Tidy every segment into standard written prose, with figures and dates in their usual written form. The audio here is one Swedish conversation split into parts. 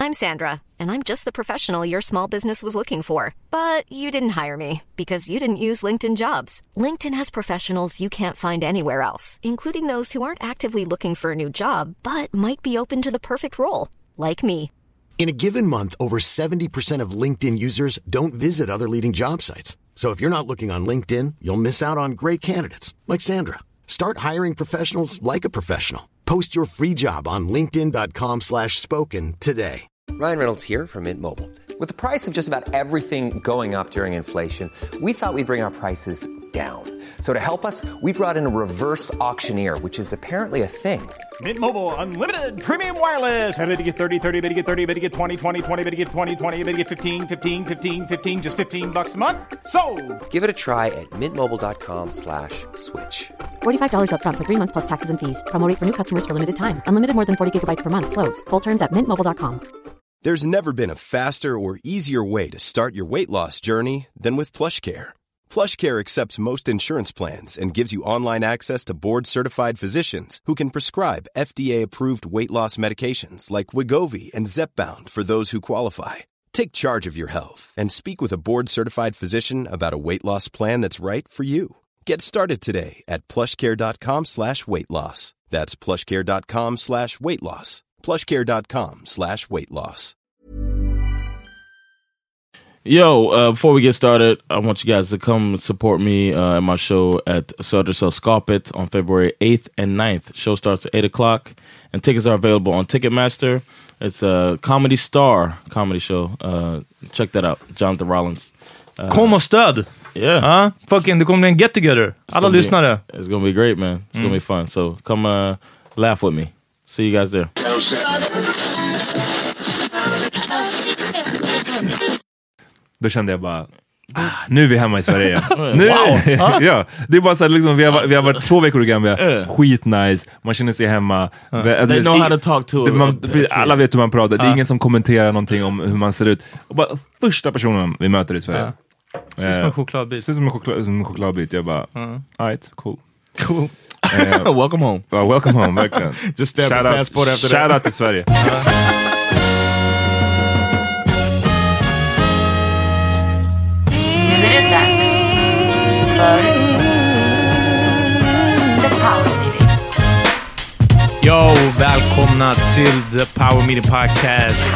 I'm Sandra, and I'm just the professional your small business was looking for. But you didn't hire me because you didn't use LinkedIn Jobs. LinkedIn has professionals you can't find anywhere else, including those who aren't actively looking for a new job, but might be open to the perfect role, like me. In a given month, over 70% of LinkedIn users don't visit other leading job sites. So if you're not looking on LinkedIn, you'll miss out on great candidates like Sandra. Start hiring professionals like a professional. Post your free job on linkedin.com/spoken today. Ryan Reynolds here from Mint Mobile. With the price of just about everything going up during inflation, we thought we'd bring our prices down. So to help us, we brought in a reverse auctioneer, which is apparently a thing. Mint Mobile Unlimited Premium Wireless. How to get 30, 30, bit to get 30, bit to get 20, 20, 20, bit to get 20, 20, bit to get 15, 15, 15, 15, just $15 a month? Sold! Give it a try at mintmobile.com/switch. $45 up front for 3 months plus taxes and fees. Promo rate for new customers for limited time. Unlimited more than 40 gigabytes per month. Slows full terms at mintmobile.com. There's never been a faster or easier way to start your weight loss journey than with PlushCare. PlushCare accepts most insurance plans and gives you online access to board-certified physicians who can prescribe FDA-approved weight loss medications like Wegovy and Zepbound for those who qualify. Take charge of your health and speak with a board-certified physician about a weight loss plan that's right for you. Get started today at plushcare.com/weightloss. That's plushcare.com/weightloss. plushcare.com/weightloss. Yo, before we get started, I want you guys to come support me at my show at Södersel Skapet on February 8th and 9th. Show starts at 8 o'clock, and tickets are available on Ticketmaster. It's a Comedy Star comedy show. Check that out. Jonathan Rollins. Kom och stöd! Yeah. Fucking, det kommer bli en get together. Alla lyssnare. It's gonna be great, man. It's gonna be fun. So come laugh with me. See you guys there. Då kände jag bara, nu är vi hemma i Sverige. Nu, wow. Ja, det är bara så här, liksom, vi har varit 2 veckor i Gambia. Skitnice, man känner sig hemma. Alltså, they know how to talk to alla vet hur man pratar. Det är ingen som kommenterar någonting om hur man ser ut. Och bara första personen vi möter i Sverige. Ser som en chokladbit. Ser som en chokladbit. Jag bara, alright, cool. Welcome home. Welcome home, verkligen. Just stamp your passport after that. Shout out till Sverige. Yo, välkomna till The Power Meeting Podcast.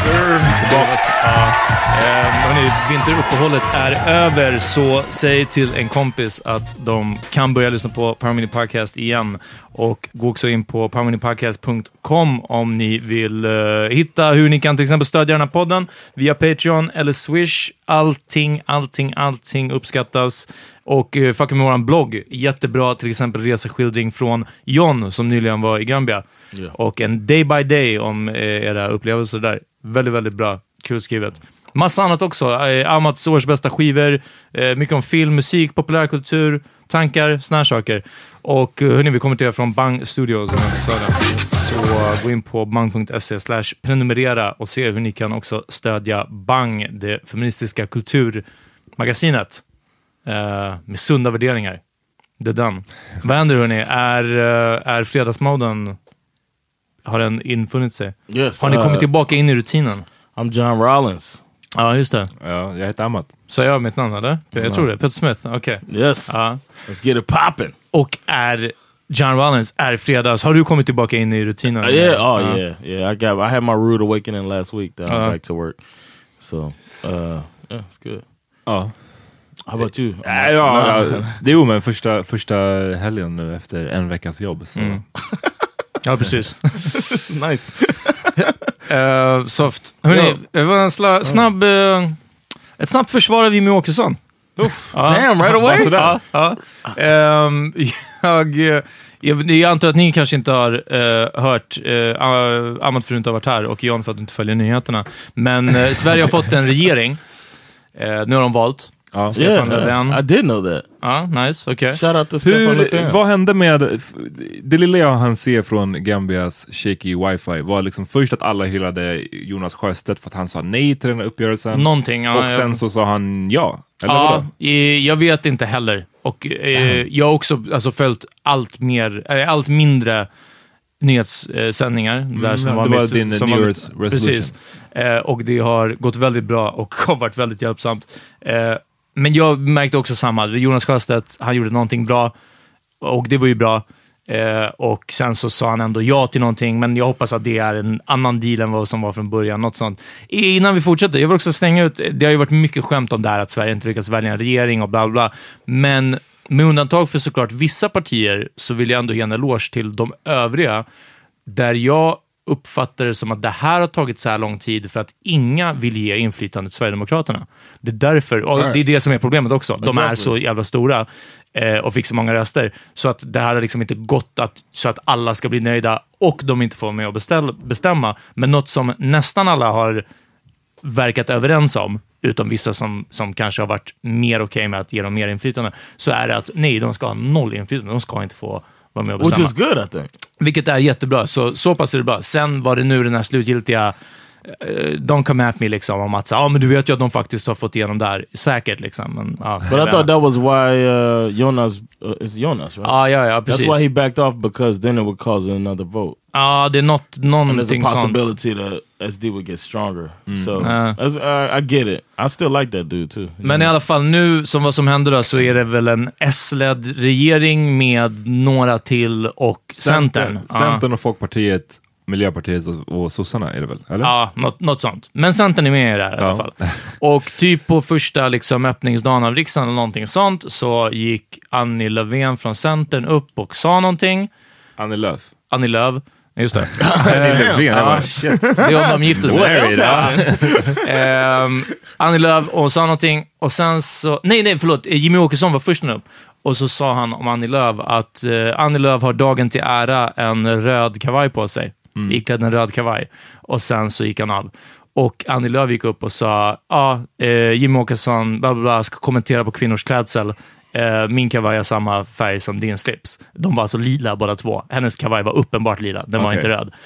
Vinteruppehållet är över, så säg till en kompis att de kan börja lyssna på Power Meeting Podcast igen. Och gå också in på powermeetingpodcast.com om ni vill hitta hur ni kan till exempel stödja den här podden via Patreon eller Swish. Allting uppskattas. Och fucking med våran blogg. Jättebra, till exempel reseskildring från John som nyligen var i Gambia. Yeah. Och en day by day om era upplevelser där. Väldigt, väldigt bra. Kul skrivet. Massa annat också. Amats års bästa skivor. Mycket om film, musik, populärkultur, tankar, såna här saker. Och hörni, vi kommer till er från Bang Studios. Så gå in på bang.se/prenumerera och se hur ni kan också stödja Bang, det feministiska kulturmagasinet. Med sunda värderingar. Det är den. Vad händer, hörni? Är fredagsmoden, har den infunnit sig? Yes, har ni kommit tillbaka in i rutinen? I'm John Rollins. Ja, just det. Ja, jag heter Amat. Så jag mitt namn, eller? Jag tror det. Peter Smith, okej. Yes. Let's get it poppin'. Och är John Rollins, är fredags. Har du kommit tillbaka in i rutinen? Yeah. I had my rude awakening last week. Then I'm back to work. So, yeah, it's good. How about you? Jo, men första helgen nu efter en veckas jobb. Så. Ja, precis. Nice. Soft. Hörrni, det var en ett snabbt försvar av Jimmy Åkesson. Damn, right away? Jag antar att ni kanske inte har hört Amat för att inte har varit här och John för att inte följer nyheterna. Men Sverige har fått en regering. Nu har de valt. Stefan Löfven. I did know that. Nice, okay. Shout out to Stefan Löfven. Vad hände med det lilla jag hann se från Gambias shaky wifi var liksom först att alla hyllade Jonas Sjöstedt för att han sa nej till den här uppgörelsen. Någonting, och sen så sa han ja. Eller vadå? Jag vet inte heller. Och jag har också följt allt mindre nyhetssändningar. Där som det var din New Year's resolution. Precis. Och det har gått väldigt bra och har varit väldigt hjälpsamt. Men jag märkte också samma. Jonas Sjöstedt, han gjorde någonting bra och det var ju bra. Och sen så sa han ändå ja till någonting, men jag hoppas att det är en annan deal än vad som var från början, något sånt. Innan vi fortsätter, jag vill också slänga ut, det har ju varit mycket skämt om det här att Sverige inte lyckas välja en regering och bla bla, men med undantag för såklart vissa partier så vill jag ändå ge en eloge till de övriga, där jag uppfattar det som att det här har tagit så här lång tid för att inga vill ge inflytande till Sverigedemokraterna. Det är därför, och det är det som är problemet också. De är så jävla stora och fick så många röster, så att det här har liksom inte gått så att alla ska bli nöjda och de inte får med att bestämma. Men något som nästan alla har verkat överens om, utom vissa som kanske har varit mer okej med att ge dem mer inflytande, så är det att nej, de ska ha noll inflytande, de ska inte få vara med och bestämma. Which is good, I think. Vilket är jättebra, så pass är det bra. Sen var det nu den här slutgiltiga don't come at me liksom, om att men du vet ju att de faktiskt har fått igenom där, säkert liksom. Men, but I thought that was why Jonas is Jonas, right? Ja, precis. That's why he backed off, because then it would cause another vote. Det är någonting and there's a possibility that SD would get stronger. So I get it. I still like that dude too. Men i alla fall nu, som vad som händer då, så är det väl en S-led regering med några till och Centern. Centern och Folkpartiet, Miljöpartiet och sossarna är det väl? Eller? Ja, något sånt. Men Centern är med i det här i alla fall. Och typ på första liksom, öppningsdagen av riksdagen eller någonting sånt, så gick Annie Löfven från Centern upp och sa någonting. Annie Lööf, just det. Annie Löfven, shit. Det är om de gifte sig. Annie Lööf och sa någonting. Och sen så... Nej, förlåt. Jimmy Åkesson var först upp. Och så sa han om Annie Lööf att Annie Lööf har dagen till ära en röd kavaj på sig. Iklädd en röd kavaj. Och sen så gick han av. Och Annie Lööf gick upp och sa Jimmy Åkesson bla bla bla, ska kommentera på kvinnors klädsel. Min kavaj är samma färg som din slips. De var alltså lila båda två. Hennes kavaj var uppenbart lila. Den var inte röd.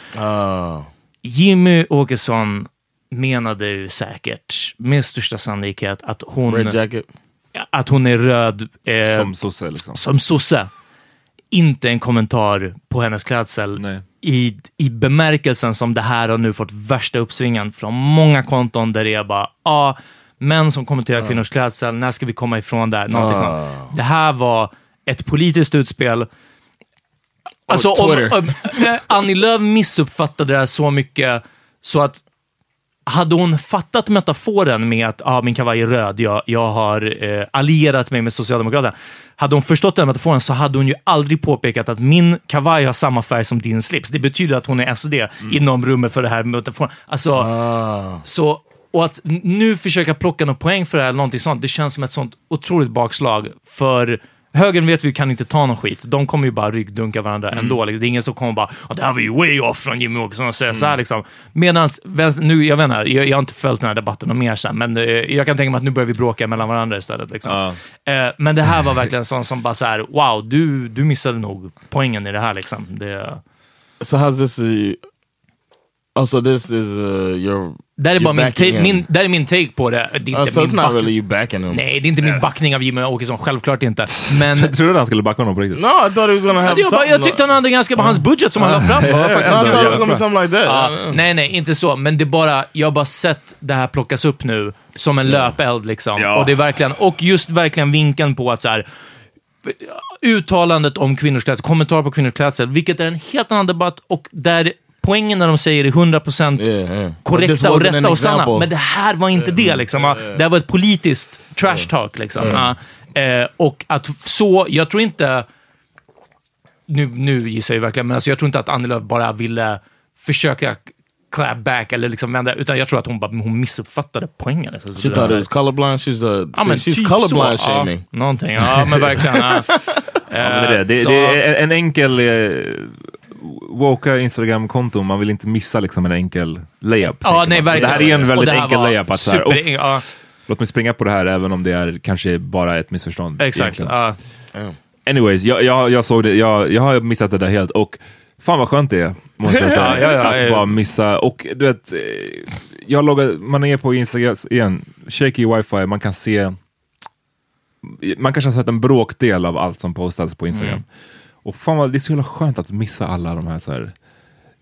Jimmy Åkesson menade ju säkert med största sannolikhet att hon... Red jacket. Att hon är röd. Som sosse liksom. Som sosse. Inte en kommentar på hennes klädsel. Nej. I bemärkelsen som det här har nu fått värsta uppsvingen från många konton där det är bara män som kommenterar kvinnors klädsel, när ska vi komma ifrån där? Det här var ett politiskt utspel. Alltså om Annie Lööf missuppfattade det här så mycket så att hade hon fattat metaforen med att min kavaj är röd, jag har allierat mig med Socialdemokraterna. Hade hon förstått den metaforen så hade hon ju aldrig påpekat att min kavaj har samma färg som din slips. Det betyder att hon är SD inom rummet för det här metaforen. Alltså, så, och att nu försöka plocka någon poäng för det här eller någonting sånt, det känns som ett sånt otroligt bakslag. För högern vet vi kan inte ta någon skit. De kommer ju bara ryggdunka varandra ändå. Det är ingen som kommer bara, det här var ju way off från Jimmy Åkesson och säga så här liksom. Medans, nu, jag vet inte, jag har inte följt den här debatten och mer sen, men jag kan tänka mig att nu börjar vi bråka mellan varandra istället liksom. Men det här var verkligen sån som bara så här, wow, du missade nog poängen i det här liksom. So how's this so this is your... Där är bara där är min take på det. Det är inte so it's not really you backing him. Nej, det är inte min backning av Jimmy Åkesson, självklart inte. Men jag trodde han skulle backa honom på riktigt. No, I thought he was gonna have jag tyckte han hade ganska på hans budget som han la fram. I thought it was gonna be something like that. Nej, inte så. Men det bara, jag har bara sett det här plockas upp nu som en löpeld liksom. Och det är verkligen, och just verkligen vinkeln på att så här, uttalandet om kvinnors klädsel, kommentar på kvinnors klädsel, vilket är en helt annan debatt och där poängen när de säger är 100% korrekta och rätta och sanna. Men det här var inte det liksom. Det här var ett politiskt trash talk liksom. Och att så, jag tror inte nu gissar jag verkligen, men alltså jag tror inte att Annie Lööf bara ville försöka clap back eller liksom vända, utan jag tror att hon missuppfattade poängen. She thought it was colorblind. She's typ colorblind så, shaming. Någonting, men verkligen. Det är en enkel woka Instagram-konto, man vill inte missa liksom en enkel layup. Nej, verkligen. Det här är en väldigt enkel layup. Att låt mig springa på det här även om det är kanske bara ett missförstånd. Exakt. Anyways, jag såg det. Jag har missat det där helt och fan vad skönt det är, måste jag säga. Att bara missa. Och du vet, man är på Instagram igen, shaky wifi, man kan se, man kanske har sett en bråkdel av allt som postas på Instagram. Och fan vad, det är så jävla skönt att missa alla de här så här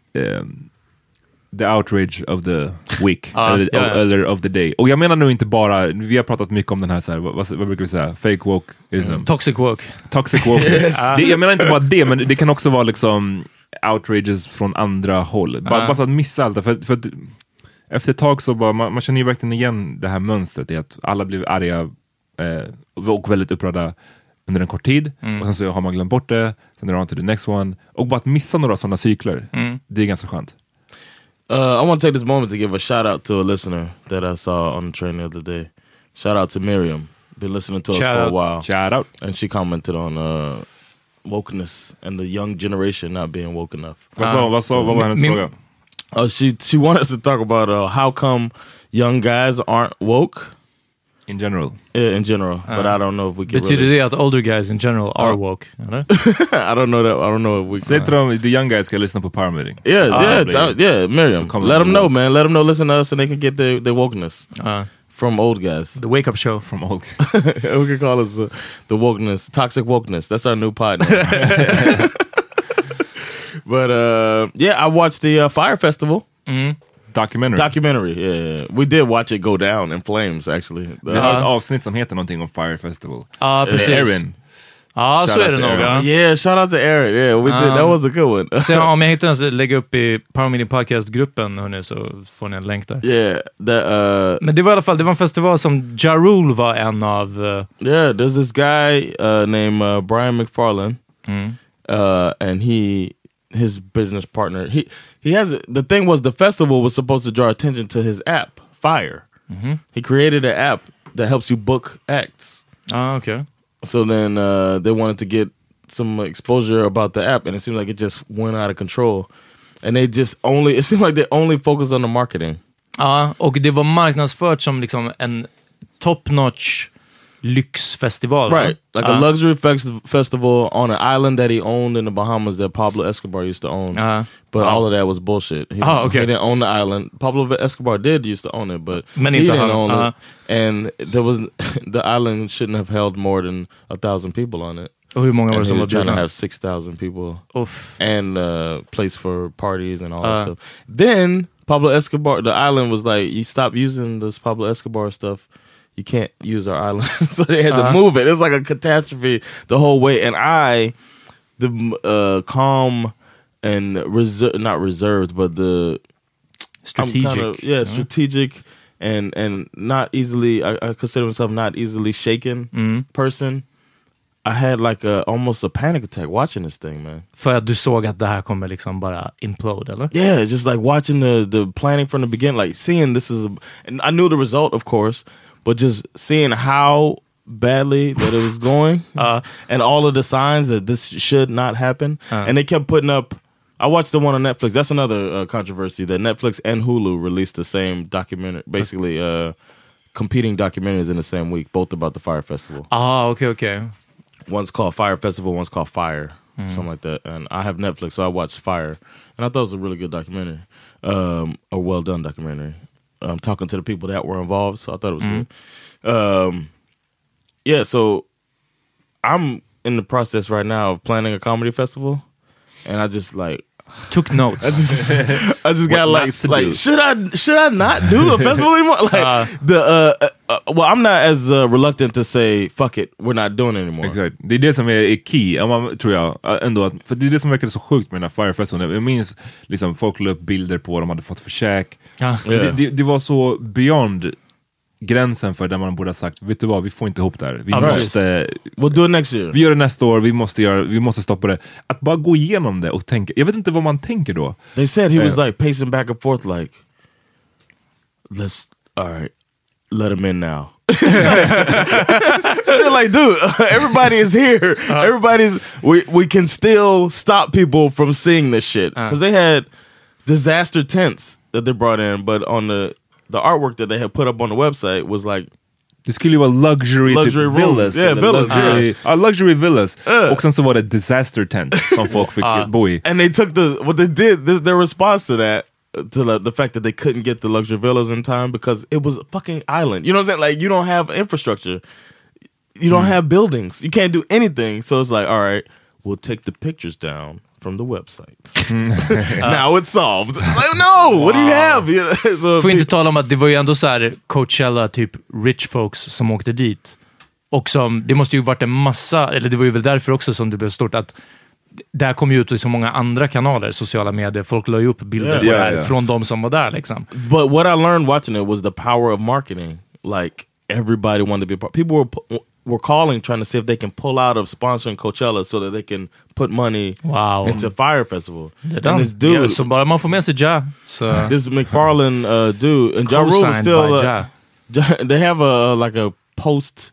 the outrage of the week eller of the day. Och jag menar nu inte bara, vi har pratat mycket om den här, så här vad brukar vi säga? Fake wokeism. Toxic woke. Jag menar inte bara det, men det kan också vara liksom outrages från andra håll. Bara så att missa allt. För att efter ett tag så bara, man känner ju verkligen igen det här mönstret i att alla blir arga och väldigt upprörda under en kort tid, och sen så har man glömt bort det, sen är det on to the next one, och bara att missa några sådana cykler, det är ganska skönt. I want to take this moment to give a shout out to a listener that I saw on the train the other day. Shout out to Miriam. Been listening to us for a while. Shout out. And she commented on wokeness and the young generation not being woke enough. Vad var hennes fråga? She wanted us to talk about how come young guys aren't woke. In general. Yeah, in general. But I don't know if we can. Betyder det att older guys in general are woke? Eller? I don't know that. I don't know if we. Säg till dem, the young guys ska lyssna på Power Meeting. Yeah, Miriam. So let them know, man. Let them know. Listen to us, and they can get their wokeness from old guys. The wake up show from old. We can call us the wokeness, toxic wokeness. That's our new pod. But yeah, I watched the Fire Festival. Documentary, yeah. We did watch it go down in flames, actually. Vi har ett avsnitt som heter någonting om Fire Festival. Precis. Erin. Så är det nog. Yeah, shout out to Erin. Yeah, we did. That was a good one. Så om jag hittar den så lägger upp i Power Meeting Podcast-gruppen, hörni, så får ni en länk där. Yeah. Men det var i alla fall, det var en festival som Ja Rule var en av... Yeah, there's this guy named Brian McFarlane. And his business partner, he has the thing was the festival was supposed to draw attention to his app Fire. He created an app that helps you book acts. Okay. So then they wanted to get some exposure about the app, and it seemed like it just went out of control, and it seemed like they only focused on the marketing. Och det var marknadsfört som liksom en top notch lyxfestival, right? Like a luxury festival on an island that he owned in the Bahamas that Pablo Escobar used to own. But all of that was bullshit. He didn't own the island. Pablo Escobar used to own it, but he didn't own it. And the island shouldn't have held more than 1,000 people on it. Och hur många var det som var trying to have 6,000 people. And place for parties and all that stuff. Then Pablo Escobar, the island was like, you stop using this Pablo Escobar stuff, you can't use our island. So they had to move it. It's like a catastrophe the whole way. And the calm and not reserved, but the strategic. Strategic and not easily, I consider myself not easily shaken person. I had like almost a panic attack watching this thing, man. För att du såg att det här kommer liksom bara implode, eller? Yeah, just like watching the planning from the beginning, like seeing and I knew the result, of course, but just seeing how badly that it was going and all of the signs that this should not happen. And they kept putting up, I watched the one on Netflix. That's another controversy, that Netflix and Hulu released the same documentary, basically competing documentaries in the same week, both about the Fire Festival. Okay. One's called Fire Festival, one's called Fire, something like that. And I have Netflix, so I watched Fire. And I thought it was a really good documentary, a well-done documentary. Talking to the people that were involved, so I thought it was good. Yeah, so I'm in the process right now of planning a comedy festival, and I just like took notes. I just got like should I not do a festival anymore? Like well, I'm not as reluctant to say fuck it, we're not doing it anymore. Exakt. Det är det som är key, tror jag ändå, för det är det som verkar så sjukt med den här Fire Festival. Jag minns liksom folk la upp bilder på vad de hade fått för käk. Det var så beyond gränsen för där man borde ha sagt, vet du vad, vi får inte ihop det här. Vi måste we'll do it next year. Vi gör det nästa år, vi måste stoppa det. Att bara gå igenom det och tänka, jag vet inte vad man tänker då. They said he was like pacing back and forth like, let him in now. They're like, dude, everybody is here. We can still stop people from seeing this shit. Because they had disaster tents that they brought in, but on the artwork that they had put up on the website was like, det skulle ju vara luxury villas. Yeah, villas. Luxury villas. Och sen så var det disaster tent som folk fick bo i. And they took what they did, their response to that, to the fact that they couldn't get the luxury villas in time because it was a fucking island. You know what I'm saying? Like, you don't have infrastructure. You don't have buildings. You can't do anything. So it's like, all right, we'll take the pictures down from the website. Now it's solved. Like, no, what do you have? So får inte tala om att det var ju ändå så här Coachella, typ rich folks som åkte dit. Och som, det måste ju varit en massa, eller det var ju väl därför också som det blev stort, att där kom ju ut i så många andra kanaler, sociala medier. Folk la ju upp bilder på det här från de som var där liksom. But what I learned watching it was the power of marketing. Like, everybody wanted to be a part. People were calling trying to see if they can pull out of sponsoring Coachella so that they can put money into Fire Festival. And this dude, så bara man får med sig this McFarlane dude, and Ja Rule is still they have a post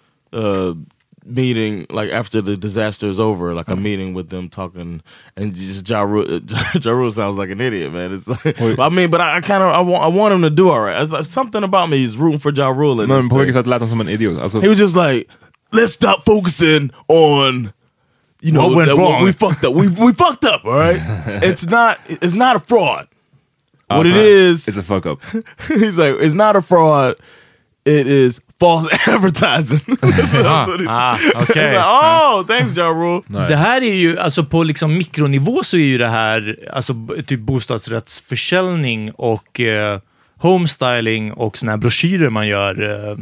meeting, like after the disaster is over, like a meeting with them talking, and just Ja Rule sounds like an idiot, man. It's like, I mean, but I want him to do all right. It's like, something about me is rooting for Ja Rule. Men på vilket sätt lät han som en idiot? Alltså, he was just like, let's stop focusing on, you know, what went wrong. We fucked up. We fucked up, all right? It's not a fraud. What it is, it's a fuck up. He's like, it's not a fraud. It is false advertising. Okay. Oh, thanks Ja Rule. Det här är ju, alltså på liksom mikronivå så är ju det här alltså typ bostadsrättsförsäljning och homestyling och såna här broschyrer man gör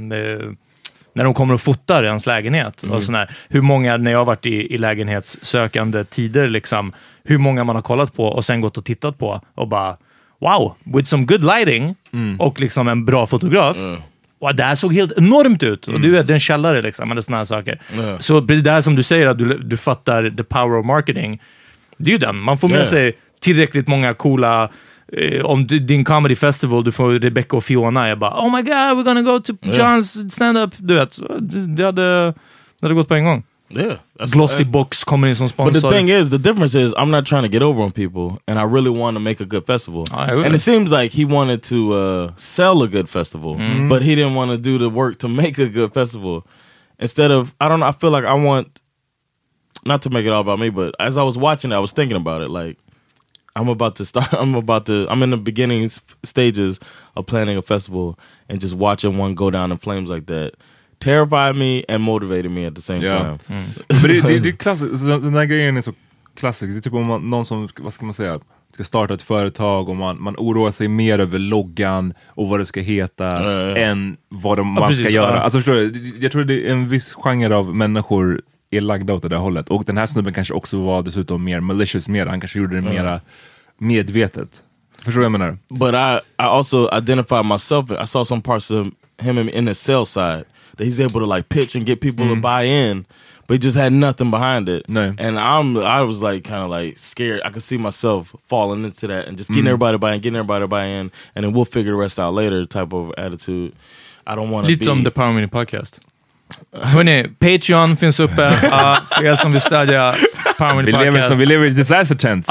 när de kommer och fotar i ens lägenhet. Och sån här, hur många, när jag har varit i lägenhetssökande tider liksom, hur många man har kollat på och sen gått och tittat på och bara, wow, with some good lighting och liksom en bra fotograf. Och det här såg helt enormt ut. Och du vet, det är en källare liksom, eller såna här saker. Så det där som du säger, att du fattar the power of marketing. Det är ju den. Man får med sig tillräckligt många coola, om din comedy festival, du får Rebecca och Fiona, jag bara, oh my god, we're gonna go to John's stand-up. Du vet, det hade gått på en gång. Yeah, Glossy Box kommer in som sponsor. But the thing is, the difference is, I'm not trying to get over on people, and I really want to make a good festival. And it seems like he wanted to sell a good festival, but he didn't want to do the work to make a good festival. Instead of, I don't know, I feel like I want, not to make it all about me, but as I was watching it, I was thinking about it, like, I'm in the beginning stages of planning a festival, and just watching one go down in flames like that terrified me and motivated me at the same time. Men det är klassiskt, den där grejen är så klassisk. Det är typ om någon som, vad ska man säga, ska starta ett företag och man oroar sig mer över loggan och vad det ska heta än vad man ska göra. Alltså förstår du, jag tror det är en viss genre av människor är lagda åt det där hållet. Och den här snubben kanske också var dessutom mer malicious, han kanske gjorde det mera medvetet. Förstår du vad jag menar? But I also identified myself, I saw some parts of him in the sales side, that he's able to like pitch and get people to buy in, but he just had nothing behind it. No. And I was like kind of like scared. I could see myself falling into that and just getting everybody to buy in, and then we'll figure the rest out later type of attitude. I don't want to lite som The Power Mini Podcast. Hörrni, Patreon finns uppe för er som vill stödja Power Mini Podcast. Vi lever i disaster tent.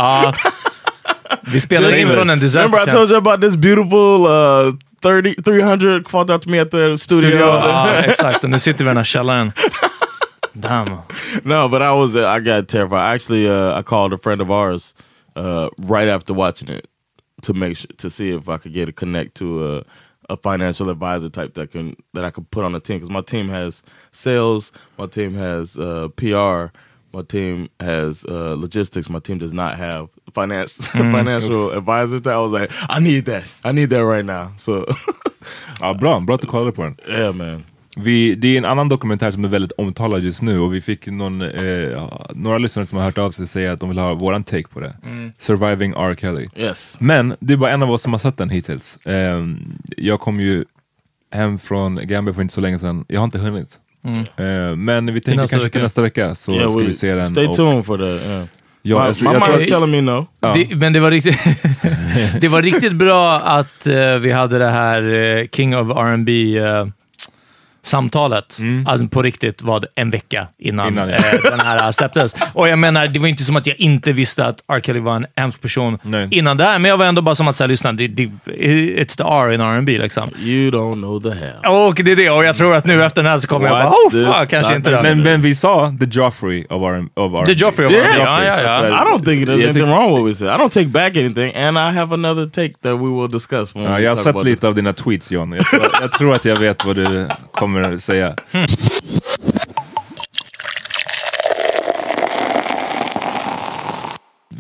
Vi spelar in från en disaster tent. Remember I told you about this beautiful 300 called out to me at the studio. Exakt, och nu sitter vi i den här källaren. Damn. No, but I got terrified. Actually, I called a friend of ours right after watching it to see if I could get a connect to a financial advisor type that I could put on the team, because my team has sales, my team has PR, my team has logistics. My team does not have financial advisor. I was like, I need that right now. So, bra att du kollade på den. Yeah, man. Det är en annan dokumentär som är väldigt omtalad just nu, och vi fick några lyssnare som har hört av sig säga att de vill ha våran take på det. Surviving R. Kelly. Yes. Men det är bara en av oss som har sett den hittills. Jag kom ju hem från Gambia för inte så länge sedan. Jag har inte hunnit. Men vi tänker kanske till nästa vecka så ska vi se den. Stay tuned for that. Ja, my mind is telling me no. Men det var riktigt det var riktigt bra att vi hade det här King of R&B samtalet alltså på riktigt var det en vecka innan den här släpptes. Och jag menar, det var inte som att jag inte visste att R. Kelly var en hemsk person innan det här, men jag var ändå bara som att säga, lyssna, it's the R in R&B liksom. You don't know the hell. Och det är det, och jag tror att nu efter den här så kommer jag bara, fuck, kanske inte det. Men vi sa The Joffrey of R&B. The Joffrey of R&B. I don't think there's anything wrong with what we said. I don't take back anything, and I have another take that we will discuss. Jag har sett lite av dina tweets, John. Jag tror att jag vet vad du kommer säga.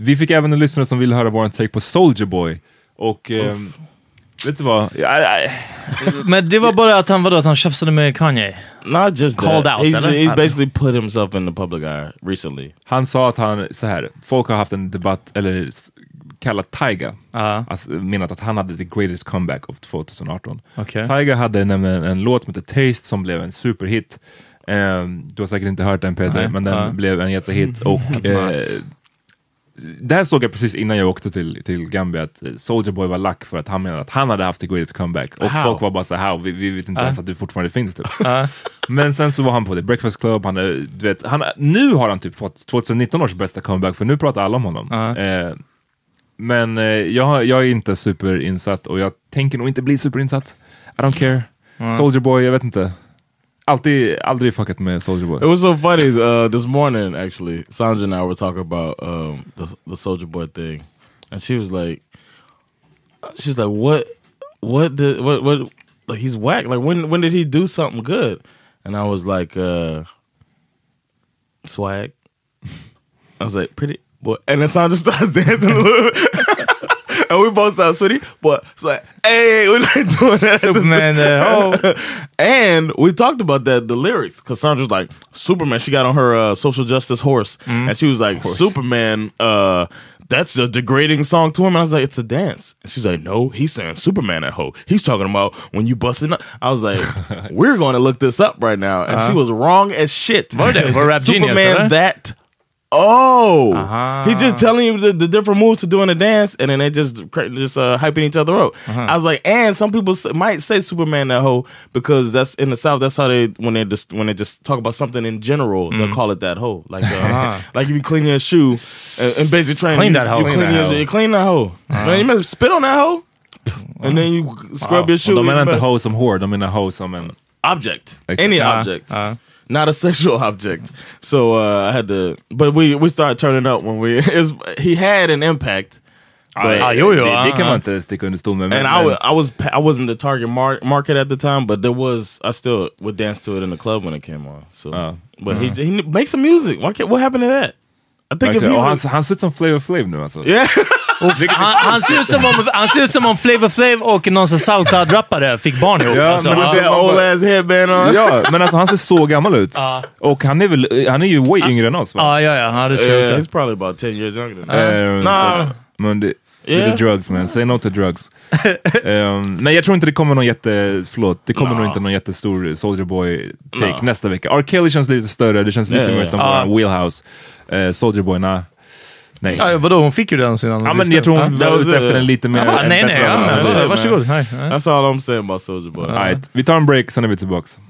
Vi fick även en lyssnare som ville höra vår take på Soulja Boy. Och vet du vad? Men det var bara att han tjafsade med Kanye. Not just called that. out. He's basically put himself in the public eye recently. Han sa att han, så här, folk har haft en debatt, eller kallat Tyga. Alltså, menat att han hade the greatest comeback of 2018. Tyga hade nämligen en låt som heter Taste som blev en superhit. Du har säkert inte hört den, Peter, men den blev en jättehit. Och det här såg jag precis innan jag åkte till Gambia, att Soulja Boy var lack för att han menade att han hade haft the greatest comeback. Och folk var bara så här, vi vet inte ens att du fortfarande finns typ. Men sen så var han på The Breakfast Club, nu har han typ fått 2019 års bästa comeback, för nu pratar alla om honom. Men jag är inte superinsatt, och jag tänker nog inte bli superinsatt. I don't care. Soulja Boy, jag vet inte. Aldrig fuckat med Soulja Boy. It was so funny this morning, actually. Sandra and I were talking about the Soulja Boy thing, and she was like, what like, he's whack. Like, when did he do something good? And I was like, swag. I was like, pretty boy. And then Sandra starts dancing a little bit. And we both started sweaty, but it's like, hey, we're not doing that. Superman, And we talked about the lyrics, because Sandra's like, Superman, she got on her social justice horse, and she was like, Superman, that's a degrading song to him. And I was like, it's a dance. And she's like, no, he's saying Superman at hoe. He's talking about when you busted up. I was like, we're going to look this up right now. And she was wrong as shit. We're Rap Superman, Genius, that... He's just telling you the different moves to doing a dance, and then they just hyping each other up. I was like, and some people might say Superman that hoe, because that's in the South. That's how they when they just talk about something in general, they'll call it that hoe. Like like you be cleaning your shoe and basically trying clean that hoe. You clean that hoe. Man, you must spit on that hoe, and then you scrub your shoe. De menar inte hoe som hår, de menar hoe som en object, any object. Not a sexual object. So I had to, but we started turning up when he had an impact. Det kan man inte sticka under stol med. And I wasn't the target market at the time, but I still would dance to it in the club when it came on. So, but he makes some music. What happened to that? I think han ser ut som Flavor Flav nu alltså. Yeah. Han ser ut som om Flavor Flav och någon sån SoundCloud-rappare fick barn ihop. Alltså, men old ass headband on. Ja, men alltså han ser så gammal ut. Och han är ju way yngre än oss, va? Ja, det tror jag. He's probably about 10 years younger than us. Men the drugs, man. Say no to drugs. Men jag tror inte det kommer någon inte någon jättestor Soulja Boy take nästa vecka. R. Kelly känns lite större, det känns lite mer som vår wheelhouse. Soulja Boy, nej. Ja, vadå? Hon fick ju den sedan. Ja, men jag tror hon var ute efter en lite mer... Varsågod. That's all I'm saying about Soulja Boy. Right. Vi tar en break, sen är vi tillbaks.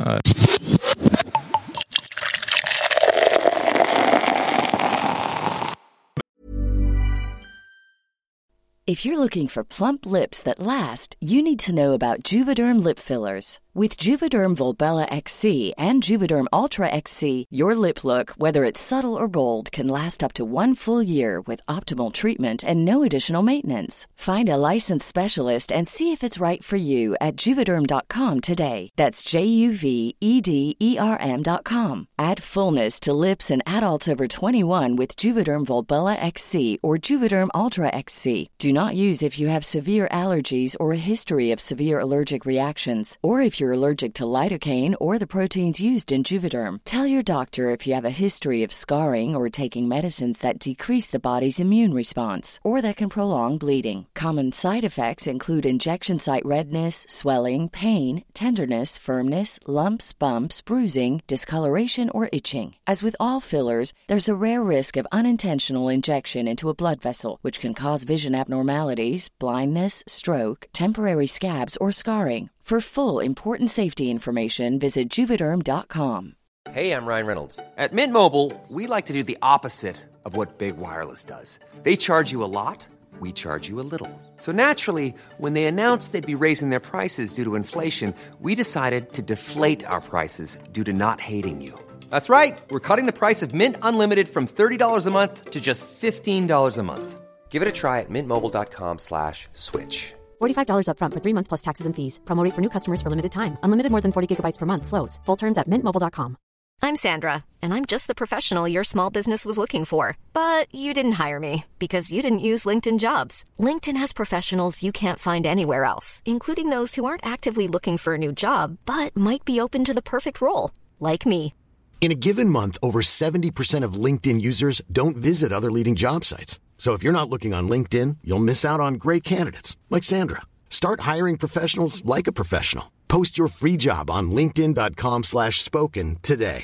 If you're looking for plump lips that last, you need to know about Juvederm lip fillers. With Juvederm Volbella XC and Juvederm Ultra XC, your lip look, whether it's subtle or bold, can last up to 1 full year with optimal treatment and no additional maintenance. Find a licensed specialist and see if it's right for you at Juvederm.com today. That's JUVEDERM.com. Add fullness to lips in adults over 21 with Juvederm Volbella XC or Juvederm Ultra XC. Do not use if you have severe allergies or a history of severe allergic reactions, or if you're allergic to lidocaine or the proteins used in Juvederm. Tell your doctor if you have a history of scarring or taking medicines that decrease the body's immune response or that can prolong bleeding. Common side effects include injection site redness, swelling, pain, tenderness, firmness, lumps, bumps, bruising, discoloration, or itching. As with all fillers, there's a rare risk of unintentional injection into a blood vessel, which can cause vision abnormalities, blindness, stroke, temporary scabs, or scarring. For full, important safety information, visit Juvederm.com. Hey, I'm Ryan Reynolds. At Mint Mobile, we like to do the opposite of what Big Wireless does. They charge you a lot, we charge you a little. So naturally, when they announced they'd be raising their prices due to inflation, we decided to deflate our prices due to not hating you. That's right. We're cutting the price of Mint Unlimited from $30 a month to just $15 a month. Give it a try at mintmobile.com/switch. $45 up front for 3 months plus taxes and fees. Promo rate for new customers for limited time. Unlimited more than 40 gigabytes per month. Slows full terms at mintmobile.com. I'm Sandra, and I'm just the professional your small business was looking for. But you didn't hire me because you didn't use LinkedIn Jobs. LinkedIn has professionals you can't find anywhere else, including those who aren't actively looking for a new job, but might be open to the perfect role, like me. In a given month, over 70% of LinkedIn users don't visit other leading job sites. So if you're not looking on LinkedIn, you'll miss out on great candidates like Sandra. Start hiring professionals like a professional. Post your free job on linkedin.com/spoken today.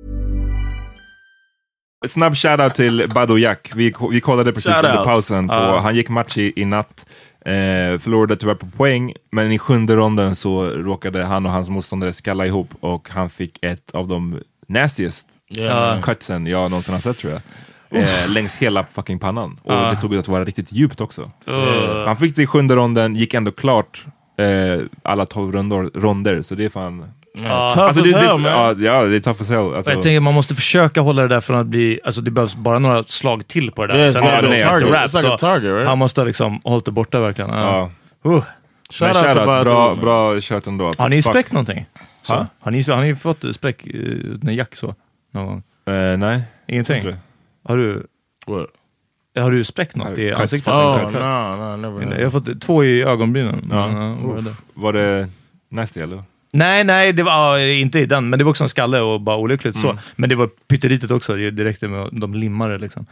Snabb shoutout till Badou Jack. Vi kollade precis under pausen på, han gick match i natt. Förlorade tyvärr på poäng, men i 7:e ronden så råkade han och hans motståndare skalla ihop och han fick ett av de nastiest cutsen jag någonsin har sett, tror jag. Längs hela fucking pannan. Och det såg ut att vara riktigt djupt också. Han fick det i 7:e ronden, gick ändå klart alla 12 ronder, så det är fan... det är tough as hell. Alltså. Jag tänker man måste försöka hålla det där från att bli, alltså det behövs bara några slag till på det där. Sen är det target, right? Han måste liksom hållit det borta verkligen. Bra kört ändå. Alltså, har ni spräckt någonting? Har ni fått spräck när Jack så någon gång? Nej. Ingenting? Har du spräckt något i ansiktet? Never. Jag har fått 2 i ögonbrynen. Var det nasty eller? Nej, det var inte i den, men det var också en skalle och bara olyckligt så. Men det var pyttelitet också, direkt med de limmare liksom.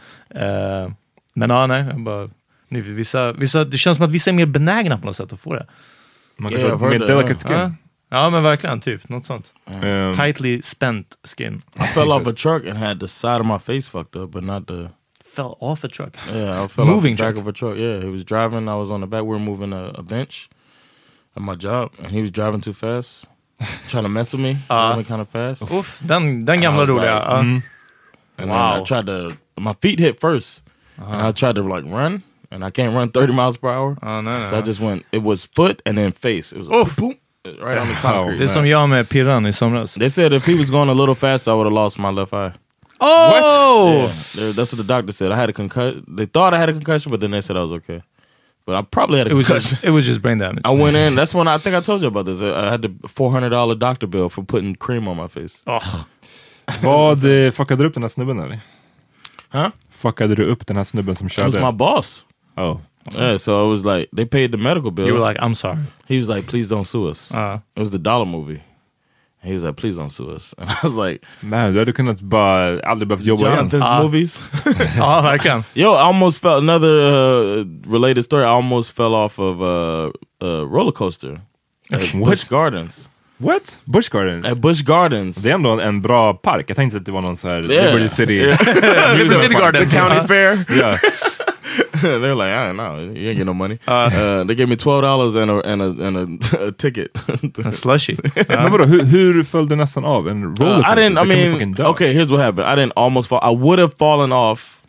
Men jag bara... Vissa, det känns som att vissa är mer benägna på något sätt att få det. Man kan få mer delicate skin. Ja, men verkligen, typ, något sånt. Tightly spent skin. I fell off a truck and had the side of my face fucked up, but not the... Fell off a truck? Yeah, I fell off the back of a truck. Yeah, he was driving, I was on the back, we were moving a bench at my job, and he was driving too fast, trying to mess with me, going kind of fast. Oof, den gamla roliga. And then I tried to, my feet hit first, and I tried to like run, and I can't run 30 miles per hour. So I just went, it was foot and then face. It was boom, right on the concrete. Det är som jag med Pirran i somras. They said if he was going a little faster I would have lost my left eye. Oh! What? Yeah, that's what the doctor said. I had a concussion. They thought I had a concussion, but then they said I was okay. But I probably had a concussion. It was just brain damage. I went in. That's when I think I told you about this. I had the $400 doctor bill for putting cream on my face. Vad fuckade du upp den här snubben eller? Huh? Fuckade du upp den här snubben som körde? It was my boss. Oh. Yeah, so it was like, they paid the medical bill. You were like, I'm sorry. He was like, please don't sue us. It was the dollar movie. He was like, please don't sue us. And I was like... Man, du hade kunnat bara aldrig behövt jobba igen. Jonathan's movies. Ja, verkligen. Yo, I almost fell... Another related story. I almost fell off of a roller coaster. At Busch Gardens. What? Busch Gardens? At Busch Gardens. Det är ändå en bra park. Jag tänkte att det var någon så här Liberty City. Liberty City Gardens. The county fair. Yeah. They're like, I don't know, you ain't get no money. They gave me $12 and a ticket. A slushy. Men vadå, hur föll du nästan av? En rollercoaster? I mean, okay, here's what happened. I didn't almost fall. I would have fallen off.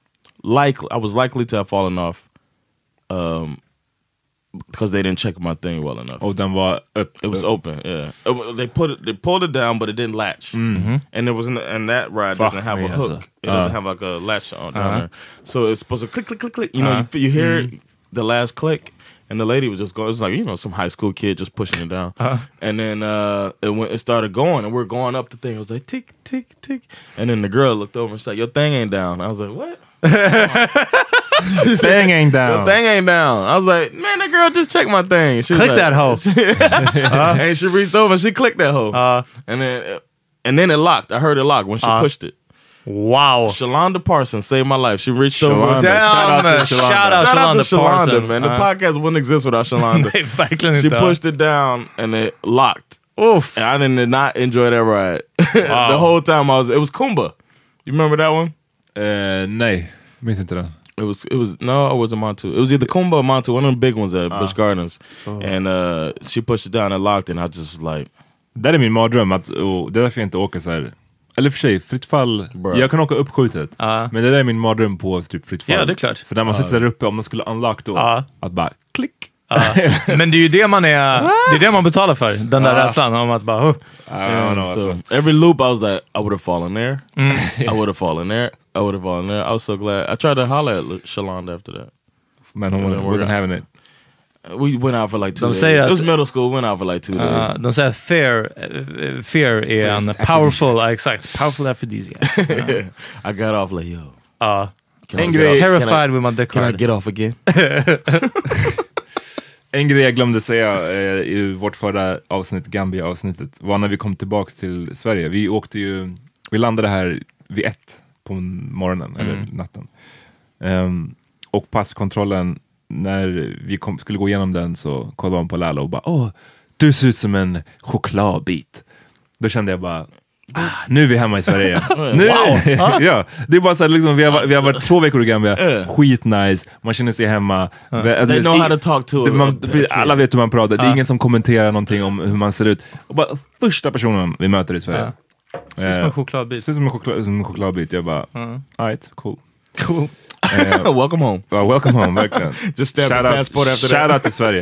I was likely to have fallen off. Because they didn't check my thing well enough. Oh, den var upp. It was open. Yeah, they pulled it down, but it didn't latch. And there wasn't, and that ride doesn't have a hook. It doesn't have like a latch on down there. So it's supposed to click, click, click, click. You know, you hear the last click, and the lady was just going. It was like, you know, some high school kid just pushing it down. And then it started going, and we're going up the thing. It was like tick, tick, tick. And then the girl looked over and said, "Your thing ain't down." I was like, "What?" Thing ain't down. The thing ain't down. I was like, man, that girl just checked my thing. She click that hoe. And she reached over and she clicked that hoe. And then it locked. I heard it lock when she pushed it. Wow. Shalonda Parsons saved my life. She reached over. Damn, shout out to Shalonda, man. The podcast wouldn't exist without Shalonda. She pushed it down and it locked. Oof. And I did not enjoy that ride. Wow. The whole time it was Kumba. You remember that one? Nej, minns inte den. It wasn't Montu. It was either Kumba or Montu, one of the big ones at Busch Gardens. And she pushed it down and locked and I just like... Det är min mardröm, det är därför jag inte åker så här. Eller för sig, fritt fall. Jag kan åka uppskjutet. Men det där är min mardröm på typ fritt fall. Ja, det är klart. För när man sitter där uppe, om man skulle unlock då, att bara klick. Men det är ju det man det är det man betalar för. Den där rädslan om att bara... So every loop I was like, I would have fallen there. I would have fallen there. I would have fallen there. I was so glad. I tried to holler at Shalonda after that. Men hon wasn't having it. We went out for like 2 days. It was middle school, went out for like 2 days. De säger att fear är en powerful, exakt, powerful aphrodisiac. I got off like, yo. Terrified with my dick. Can I get off again? En grej jag glömde säga i vårt förra avsnitt, Gambia-avsnittet, var när vi kom tillbaka till Sverige. Vi landade här vid 1 på morgonen, eller natten. Och passkontrollen, när vi skulle gå igenom den, så kollade de på Lalo och bara, du ser ut som en chokladbit. Då kände jag bara, nu är vi hemma i Sverige. Ja, det är bara så här, liksom, vi har varit 2 veckor i Gambia. Skitnice, man känner sig hemma. Alltså, they know how to talk to alla vet hur man pratar. Det är ingen som kommenterar någonting om hur man ser ut. Och bara första personen vi möter i Sverige. Ser som en chokladbit. Ser som en chokladbit. Jag bara, alright, cool. Welcome home. Welcome home, verkligen. Just stamp the passport after that. Shout out till Sverige.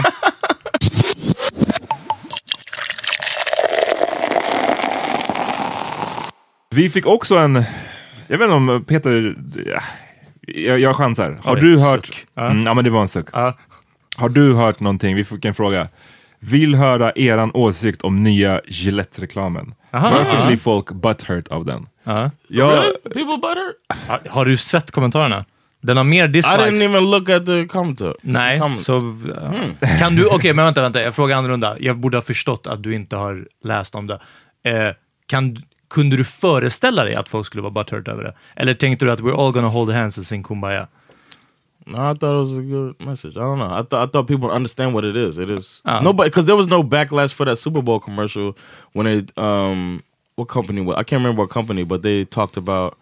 Vi fick också jag vet inte om Peter, jag chansar. Har du hört, ja men det var en suck. Har du hört någonting, vi fick en fråga. Vill höra eran åsikt om nya Gillette-reklamen. Varför blir folk butthurt av den? Really? People butthurt? Har du sett kommentarerna? Den har mer dislikes. I didn't even look at the commenter. Nej, så kan du, okej, men vänta, jag frågar annorlunda. Jag borde ha förstått att du inte har läst om det. Kunde du föreställa dig att folk skulle vara butthurt över det? Eller tänkte du att we're all gonna hold hands and sing Kumbaya? No, I thought it was a good message. I don't know. I thought people understand what it is. It is nobody, because there was no backlash for that Super Bowl commercial when they what company? I can't remember what company, but they talked about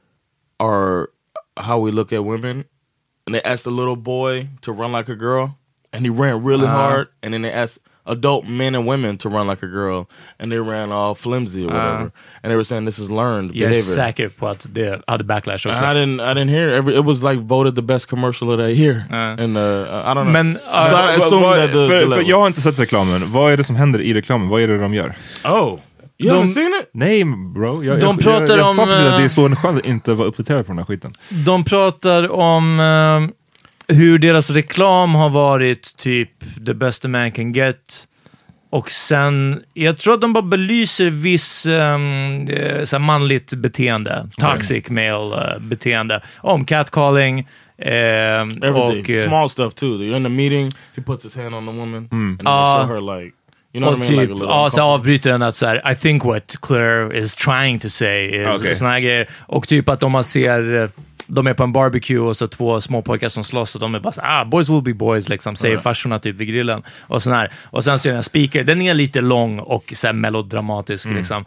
how we look at women, and they asked a little boy to run like a girl, and he ran really hard, and then they asked adult men and women to run like a girl, and they ran all flimsy or whatever, and they were saying this is learned behavior. Jag är säker på att det hade backlash också. I didn't hear it was like voted the best commercial of the year, and I don't know. Men so I assume that för jag har inte sett reklamen. Vad är det som händer i reklamen? Vad är det de gör? You haven't seen it? Nej, bro. Jag pratar om... sa att det är så en själv inte var uppdaterad på den här skiten. De pratar om hur deras reklam har varit typ the best a man can get. Och sen, jag tror att de bara belyser viss så manligt beteende. Toxic male beteende. Om catcalling. Everything. Small stuff too. You're in a meeting, he puts his hand on the woman and they show her like... You know what I mean? Typ, så avbryter den att så här, I think what Claire is trying to say is såna här grejer. Och typ att om man ser, de är på en barbecue och så 2 små pojkar som slåss och de är bara så boys will be boys, liksom, säger farsorna typ vid grillen och sån här. Och sen så är den speaker, den är lite lång och så här melodramatisk liksom.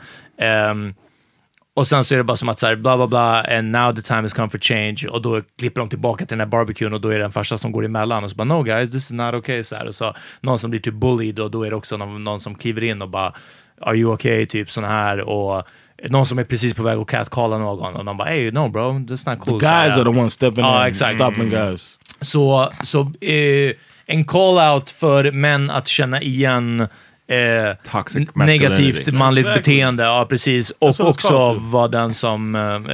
Och sen så är det bara som att så här, bla bla bla, and now the time has come for change. Och då klipper de tillbaka till den här barbecuen och då är det en farsa som går emellan och så bara, no guys, this is not okay, så här. Och så någon som blir typ bullied och då är det också någon som kliver in och bara, are you okay, typ sån här. Och någon som är precis på väg att catcalla någon och de bara, hey, no bro, that's not cool. The guys are the ones stepping in, stopping guys. Så en call-out för män att känna igen negativt manligt beteende, ja precis, och också vara den som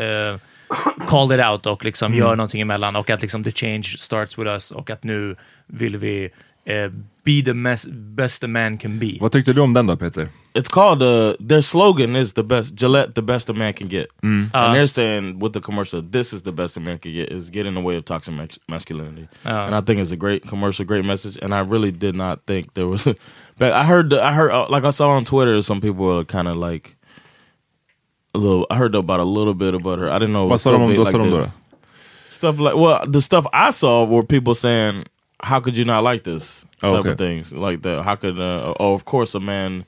call it out och liksom gör någonting emellan, och att liksom the change starts with us, och att nu vill vi be the best a man can be. Vad tyckte du om den då, Peter? It's called their slogan is the best, Gillette, the best a man can get. And they're saying with the commercial, this is the best a man can get, is get in the way of toxic masculinity. And I think it's a great commercial, great message, and I really did not think there was but I heard like I saw on Twitter some people were kind of like I heard about a little bit about her. I didn't know it was so big like this. Stuff like, well, the stuff I saw were people saying, how could you not like this type of things like that? How could of course a man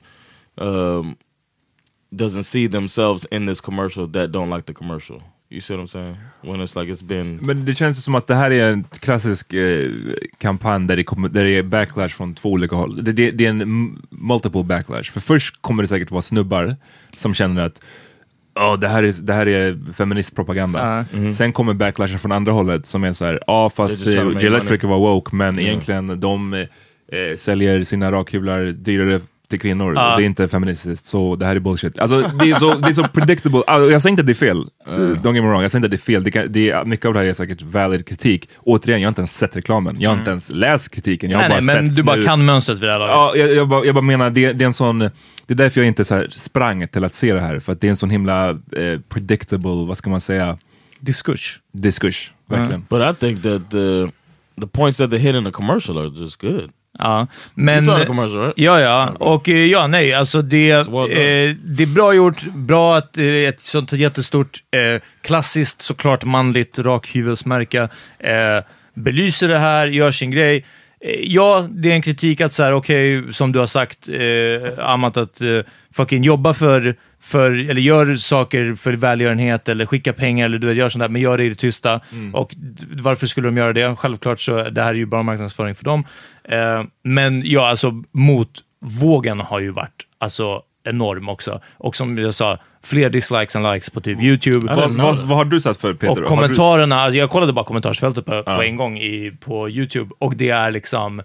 doesn't see themselves in this commercial that don't like the commercial. You see what I'm saying? When it's like it's been... Men det känns som att det här är en klassisk kampanj där det är backlash från 2 olika håll. Det är en multiple backlash. För först kommer det säkert vara snubbar som känner att det här är feministpropaganda. Sen kommer backlashen från andra hållet som är så här, fast Gillette försöker vara woke, men egentligen de säljer sina rakhyvlar dyrare till kvinnor. Det är inte feministiskt, så det här är bullshit. Alltså, det är så predictable. Alltså, jag säger inte att det är fel. Don't get me wrong, jag säger inte att det är fel. Det är, mycket av det här är säkert valid kritik. Återigen, jag har inte ens sett reklamen. Jag har inte ens läst kritiken. Jag har bara men sett du bara kan mönstret vid det här laget. Ja, jag bara menar, det är en sån... Det är därför jag inte så här sprang till att se det här. För att det är en sån himla predictable, vad ska man säga? Diskurs, verkligen. But I think that the points that they hit in the commercial are just good. Ja, men... You saw the commercial, right? Ja. Och alltså det är bra gjort, bra att det är ett sånt jättestort klassiskt, såklart manligt rakhyvelsmärke belyser det här, gör sin grej. Ja, det är en kritik att så här, okej, som du har sagt, Amat, att fucking jobba för eller gör saker för välgörenhet eller skicka pengar eller du vet, gör sånt där, men gör det i det tysta. Och varför skulle de göra det? Självklart så det här är ju bara marknadsföring för dem. Men ja, alltså motvågen har ju varit alltså enorm också. Och som jag sa, fler dislikes än likes på typ YouTube. Vad har du sett för, Peter? Och kommentarerna, alltså jag kollade bara kommentarsfältet på en gång på YouTube, och det är liksom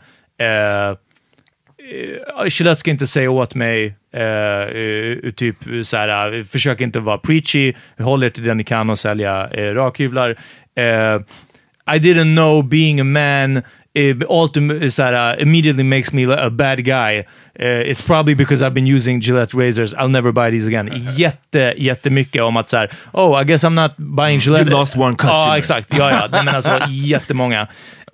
Gillette ska inte säga åt mig typ såhär, försök inte vara preachy, håll er till den ni kan och sälja rakhyvlar. I didn't know being a man immediately makes me a bad guy. It's probably because I've been using Gillette razors. I'll never buy these again. Jättemycket om att såhär, I guess I'm not buying Gillette. You lost one customer. Ja, exakt. Ja. Nej, men alltså jättemånga.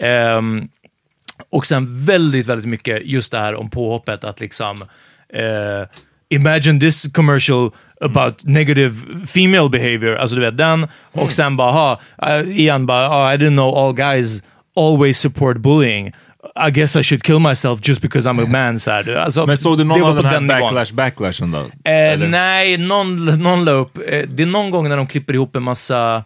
Och sen väldigt mycket just det här om påhoppet att liksom imagine this commercial about negative female behavior, alltså du vet den, och sen bara igen bara I didn't know all guys always support bullying. I guess I should kill myself just because I'm a man, så här. Alltså, men såg du någon av den här backlashen då? Nej, någon la upp. Det är någon gång när de klipper ihop en massa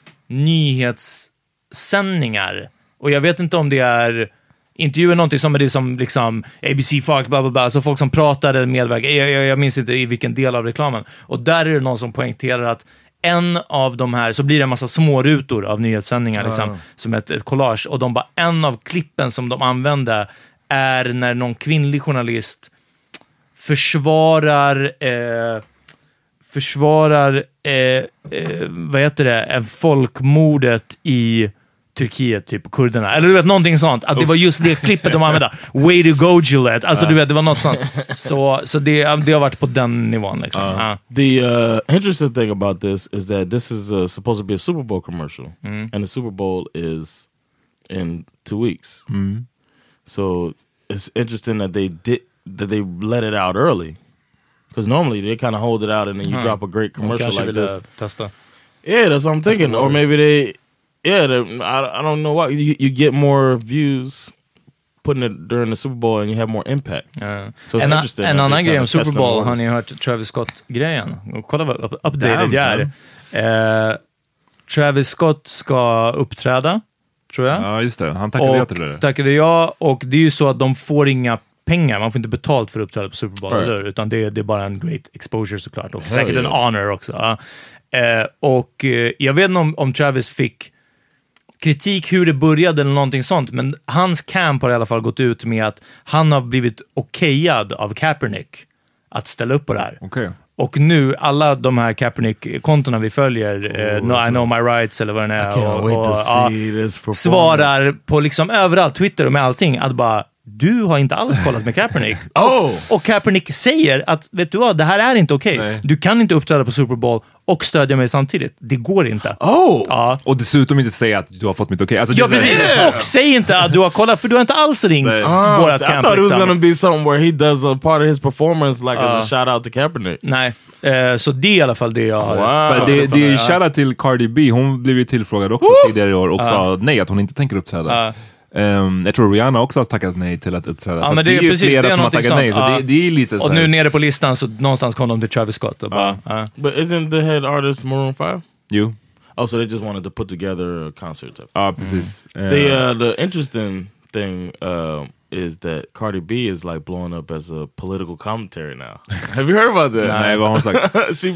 nyhetssändningar, och jag vet inte om det är intervjuer, någonting som är det som liksom ABC, Fox, bla bla bla, alltså folk som pratar eller medverkar. Jag minns inte i vilken del av reklamen. Och där är det någon som poängterar att en av de här, så blir det en massa små rutor av nyhetssändningar liksom, som ett collage, och de bara, en av klippen som de använde är när någon kvinnlig journalist försvarar vad heter det, folkmordet i Turkiet, typ kurderna, eller du vet, någonting sånt, att det var just det klippet de använde. Way to go, Gillette. Alltså du vet, det var något sånt. Så det har varit på den nivån liksom. The interesting thing about this is that this is supposed to be a Super Bowl commercial, and the Super Bowl is in 2 weeks. So it's interesting that they let it out early, because normally they kind of hold it out and then you drop a great commercial like this. Testa. Yeah, that's what I'm thinking. Or maybe they I don't know why you get more views putting it during the Super Bowl and you have more impact. So it's interesting. En annan grej om Super Bowl, har ni hört Travis Scott-grejen? Kolla vad updated jag är. Travis Scott ska uppträda, tror jag. Ja, just det. Han tackade till det. Tackade jag, och det är ju så att de får inga pengar, man får inte betalt för att uppträda på Super Bowl, eller, utan det är bara en great exposure såklart, och säkert en honor också. Och jag vet inte om Travis fick kritik hur det började eller någonting sånt, men hans camp har i alla fall gått ut med att han har blivit okejad av Kaepernick att ställa upp på det här. Och nu, alla de här Kaepernick-kontona vi följer, I know my rights eller vad det är, svarar på liksom överallt, Twitter och med allting, att bara, du har inte alls kollat med Kaepernick. Och Kaepernick säger att, vet du vad, det här är inte okej. Du kan inte uppträda på Super Bowl och stödja mig samtidigt. Det går inte. Och dessutom inte säga att du har fått mitt okej. Alltså, precis. Och säg inte att du har kollat, för du har inte alls ringt vårat camp. I thought it was gonna be something where he does a part of his performance like as a shout out to Kaepernick. Nej. Så det är i alla fall det jag har. Wow. Det är shoutout till Cardi B. Hon blev ju tillfrågad också tidigare i år och sa nej, att hon inte tänker uppträda. Jag tror Rihanna också har tackat nej till att uppträda. Så men det är ju precis, flera som har tackat nej. Så det är lite så. Och nu nere på listan så någonstans kom de till Travis Scott och bara, But isn't the head artist Maroon 5? You. Oh, so they just wanted to put together a concert. Precis. The interesting thing is that Cardi B is like blowing up as a political commentary now. Have you heard about that? Nej, vad hon sagt?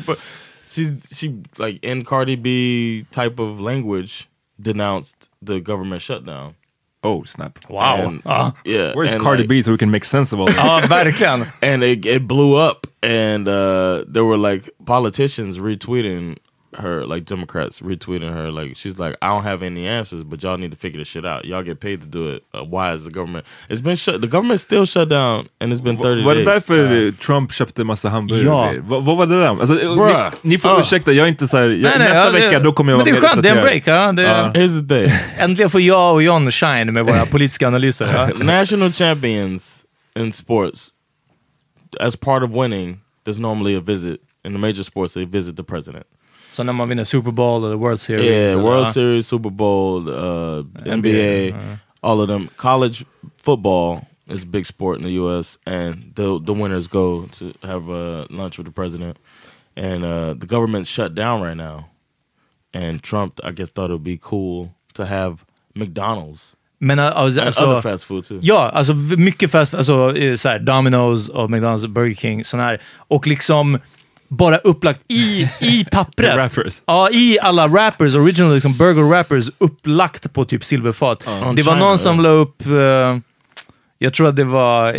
she like in Cardi B type of language denounced the government shutdown. Oh, snap. Wow. Yeah. Where's and Cardi B so we can make sense of all this? Ja, verkligen. And it blew up, and there were like politicians retweeting her, like Democrats retweeting her, like she's like, I don't have any answers, but y'all need to figure this shit out. Y'all get paid to do it. Why is the government? It's been shut. The government's still shut down, and it's been 30 days. Var det därför Trump köpte massa hamburgare? Ja. Vad var det där? Alltså, ni får ursäkta, jag är inte så här, nästa vecka då kommer jag vara men det är skönt, det är en break. Here's the thing. Äntligen får jag och John shine med våra politiska analyser. National champions in sports, as part of winning, there's normally a visit. In the major sports, they visit the president. Så när man vinner Super Bowl eller World Series. Yeah, World Series, Super Bowl, NBA, all of them. College football is a big sport in the U.S. and the winners go to have lunch with the president. And the government's shut down right now. And Trump, I guess, thought it would be cool to have McDonald's. Men and other fast food too. Ja, alltså mycket fast food, alltså så här, Domino's och McDonald's och Burger King, sån här. Och liksom bara upplagt i pappret. Rappers. Ja, i alla rappers, original liksom burger rappers, upplagt på typ silverfat. Det var någon som la upp, jag tror att det var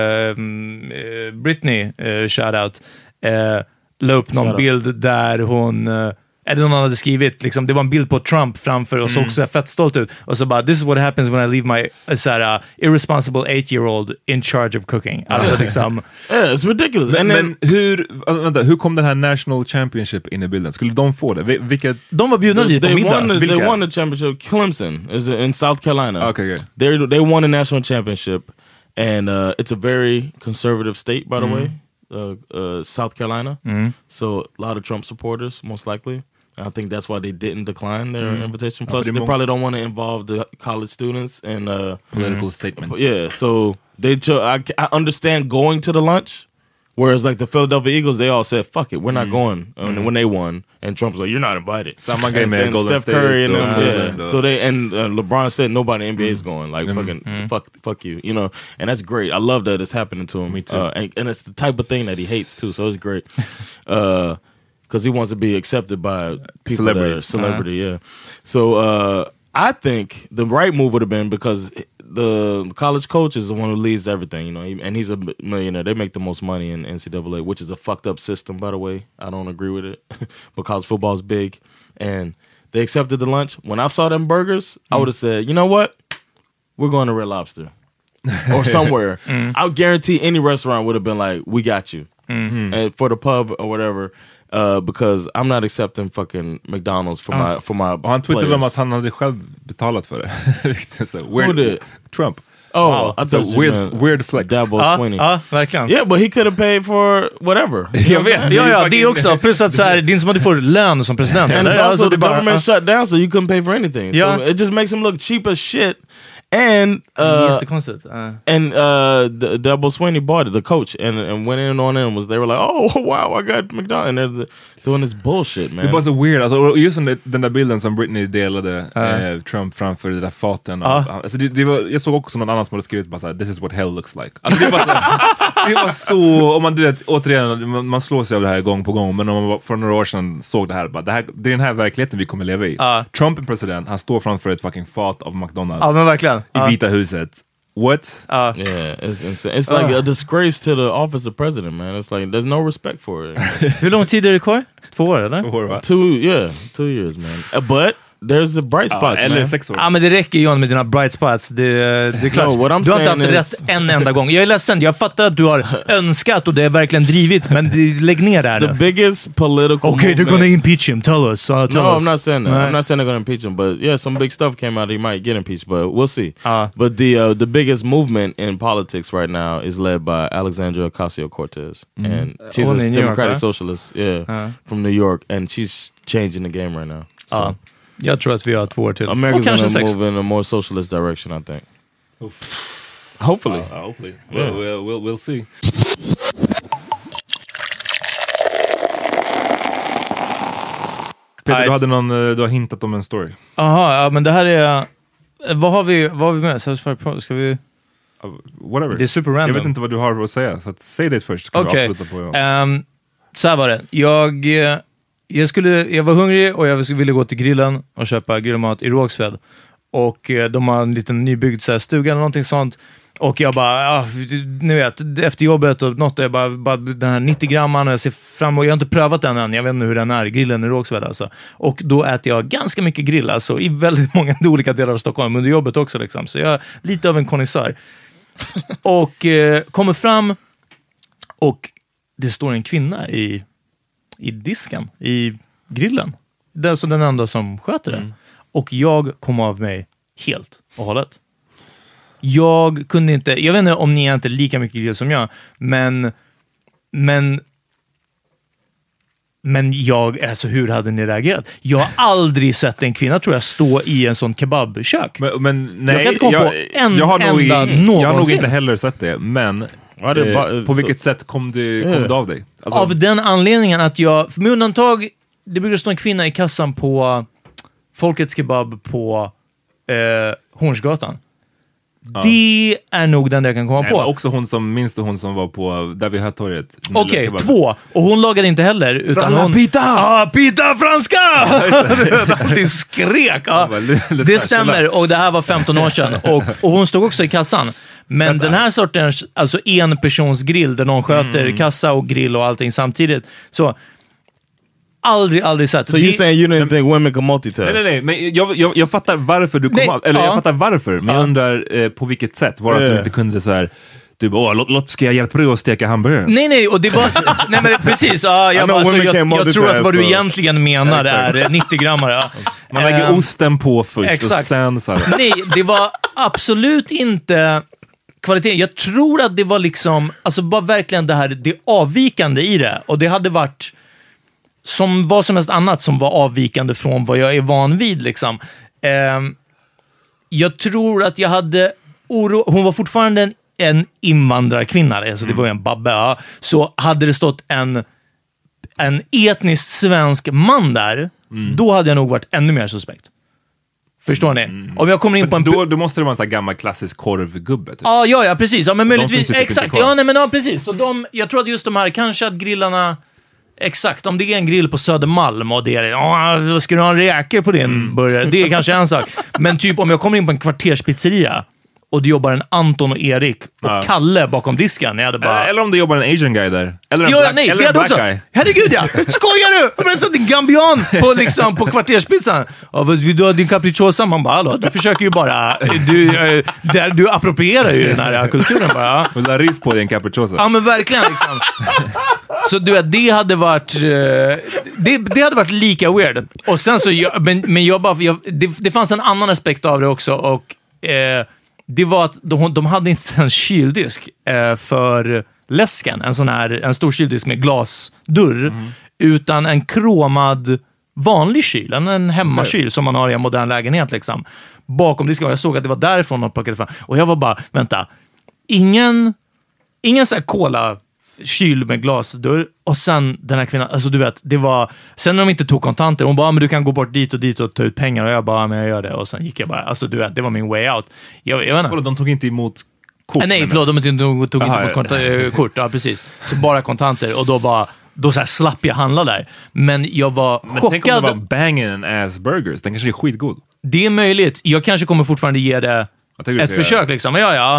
Britney, shoutout, la upp någon bild där hon, eller någon hade skrivit, liksom, det var en bild på Trump framför och såg så fett stolt ut. Och så bara, this is what happens when I leave my irresponsible 8-year-old in charge of cooking. Alltså liksom... Yeah, it's ridiculous. Men hur kom den här National Championship in i bilden? Skulle de få det? Vilka... De var bjudna dit på middag. They won the championship. Clemson is in South Carolina. Okay. They won a national championship, and it's a very conservative state, by the way, South Carolina. So a lot of Trump supporters, most likely. I think that's why they didn't decline their invitation. Plus, they probably don't want to involve the college students in political statements. Yeah, so they I understand going to the lunch, whereas like the Philadelphia Eagles, they all said, "Fuck it, we're not going." When they won, and Trump's like, "You're not invited." Samma grej med Golden Steph Curry State and them, yeah. So they LeBron said nobody in the NBA is going. Like fuck you, you know. And that's great. I love that it's happening to him. Me too. And it's the type of thing that he hates too. So it's great. Because he wants to be accepted by people that are celebrity, yeah. So I think the right move would have been, because the college coach is the one who leads everything, you know, and he's a millionaire. They make the most money in NCAA, which is a fucked up system, by the way. I don't agree with it, because football is big, and they accepted the lunch. When I saw them burgers, I would have said, you know what? We're going to Red Lobster or somewhere. I would guarantee any restaurant would have been like, we got you. And for the pub or whatever. Because I'm not accepting fucking McDonald's for my och han twittrade om att han hade själv betalat för det. So, who did? Trump. Oh, wow. I thought weird flex. Dabble Sweeney. Ja, verkligen. Yeah, but he could have paid for whatever. Jag vet. Ja, det också. Plus att så här, det är inte som att du får lön som president. And also the government shut down, so you couldn't pay for anything. Yeah. So it just makes him look cheap as shit. And Dabble Sweeney bought it, the coach, and went in on it, and they were like, oh wow, I got McDonald's, and they're doing this bullshit, man. Det var så weird, alltså, just den där bilden som Britney delade Trump framför det där faten. Alltså, jag såg också någon annan som hade skrivit bara såhär, this is what hell looks like. Alltså, det var så, om man du vet, återigen, man slår sig av det här gång på gång, men om man för några år sedan såg det här, bara, det är den här verkligheten vi kommer leva i. Trump är president, han står framför ett fucking fat av McDonald's. Ja, men verkligen. I Vita huset. What? Yeah, it's insane. It's like a disgrace to the office of president, man. It's like there's no respect for it. Hur lång tid är det kvar? 2 år, eller? 2 år, va? 2 years, man. But there's a bright spots, eller man. 6 år. Ja, men det räcker ju med dina bright spots. Det är klart. No, du har inte haft rätt en enda gång. Jag är ledsen. Jag fattar att du har önskat och det är verkligen drivit, men lägg ner det här nu. The biggest political okay, they're gonna impeach him. Tell us. No, I'm not saying that. I'm not saying they're gonna impeach him, but yeah, some big stuff came out. He might get impeached, but we'll see. But the biggest movement in politics right now is led by Alexandria Ocasio-Cortez, and she's a Democratic socialist, from New York, and she's changing the game right now. So. Jag tror att vi har 2 år till. America's gonna move in a more socialist direction, I think. Hopefully. Hopefully. We'll see. Peter, du har hintat om en story. Aha, ja, men det här är... Vad har vi med? Ska vi... Whatever. Det är super random. Jag vet inte vad du har att säga, så säg det först. Okej. Så här var det. Jag var hungrig och jag ville gå till grillen och köpa grillmat i Rågsved. Och de har en liten nybyggd så här, stuga eller någonting sånt. Och jag bara, ni vet, efter jobbet och något, jag bara den här 90 gramman och jag ser fram emot, jag har inte prövat den än, jag vet inte hur den är, grillen i Rågsved alltså. Och då äter jag ganska mycket grill alltså, i väldigt många olika delar av Stockholm, under jobbet också liksom. Så jag är lite av en konnässör. Och kommer fram och det står en kvinna i disken, i grillen. Det är alltså den enda som sköter det. Och jag kom av mig helt och hållet. Jag kunde inte, jag vet inte om ni är inte lika mycket grill som jag, men jag, alltså hur hade ni reagerat? Jag har aldrig sett en kvinna, tror jag, stå i en sån kebabkök. Men nej, jag kan inte komma på en jag har nog inte någonsin. heller sett det, men på vilket sätt kom det av dig? Alltså, av den anledningen att jag, med undantag, det brukar stå en kvinna i kassan på Folkets Kebab på Hornsgatan. Det är nog den jag kan komma på. Också hon som var på där vid Hötorget. Okej, 2. Och hon lagade inte heller, utan hon... Pita! Pita franska! Det skrek. Det stämmer, och det här var 15 år sedan. Och hon stod också i kassan. Men den här sortens, alltså en persons grill där någon sköter kassa och grill och allting samtidigt. Så aldrig sett. So you're saying you didn't think women can multitask? Nej, men jag fattar varför du kom av, eller jag fattar varför, men jag undrar på vilket sätt var det att du inte kunde så här, du bara, ska jag hjälpa dig att steka hamburgare? Nej, och det var nej men precis, jag tror att vad du egentligen menar är 90 grammar. Man lägger osten på först exakt. Och sen så här. Nej, det var absolut inte kvalitet. Jag tror att det var liksom, alltså bara verkligen det avvikande i det, och det hade varit som vad som helst annat som var avvikande från vad jag är van vid liksom. Jag tror att jag hade hon var fortfarande en invandrarkvinna, alltså det var ju en babbe, så hade det stått en etniskt svensk man där, då hade jag nog varit ännu mer suspekt. Förstår ni? Om jag kommer in på en... Då måste det vara en sån här gammal klassisk korvgubbe typ. Ja, precis. Ja, men möjligtvis, exakt. Ja, precis. Så jag tror att just de här, kanske att grillarna... Exakt, om det är en grill på Södermalm och det är, ska du ha räkor på din burgare? Det är kanske en sak. Men typ om jag kommer in på en kvarterspizzeria och det jobbar en Anton och Erik och Kalle bakom disken. Jag hade bara... Eller om det jobbar en Asian guy där. Eller en black guy. Herregud, ja! Skojar du? Men så din gambian på kvarterspizzan. Du har din capricciosa. Man bara, hallå, du försöker ju bara... Du approprierar ju den här kulturen bara. Och la ris på din capricciosa. Ja, men verkligen liksom. Så du vet, det hade varit det hade varit lika weird. Och sen så det fanns en annan aspekt av det också, och det var att de hade inte en kyldisk för läsken, en stor kyldisk med glasdörr, utan en kromad vanlig kyl, en hemmakyl som man har i en modern lägenhet liksom. Bakom disken, och jag såg att det var därifrån de plockade fram. Och jag var bara, vänta, ingen så här cola kyl med glasdörr, och sen den här kvinnan, alltså du vet, det var, sen när de inte tog kontanter, hon bara, men du kan gå bort dit och ta ut pengar, och jag bara, men jag gör det, och sen gick jag bara, alltså du vet, det var min way out. Jag vet inte. De tog inte emot kort? Nej, förlåt, de tog inte emot kort, ja precis. Så bara kontanter, och då så här slapp jag handla där. Men jag var chockad. Tänk om det var banging and ass burgers, den kanske är skitgod. Det är möjligt, jag kanske kommer fortfarande ge det ett försök liksom,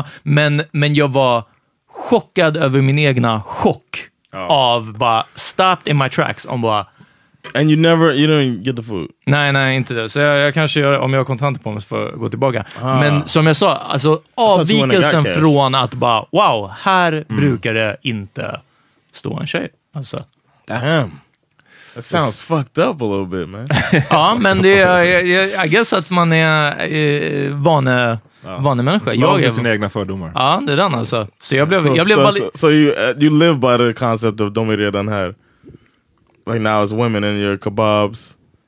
men jag var chockad över min egna chock av bara stopped in my tracks om bara... And you didn't get the food? Nej, inte det. Så jag kanske gör, om jag har kontanter på mig, för att gå tillbaka. Men som jag sa, alltså avvikelsen från att bara, wow, här brukar det inte stå en tjej. Alltså. Damn. That sounds fucked up a little bit, man. Ja, men det är, I guess att man är vanemänniska. Jag är sina egna fördomar. Ja, det är den alltså. Så jag blev So you live by the concept of de är redan här. Like now it's women in your kebabs.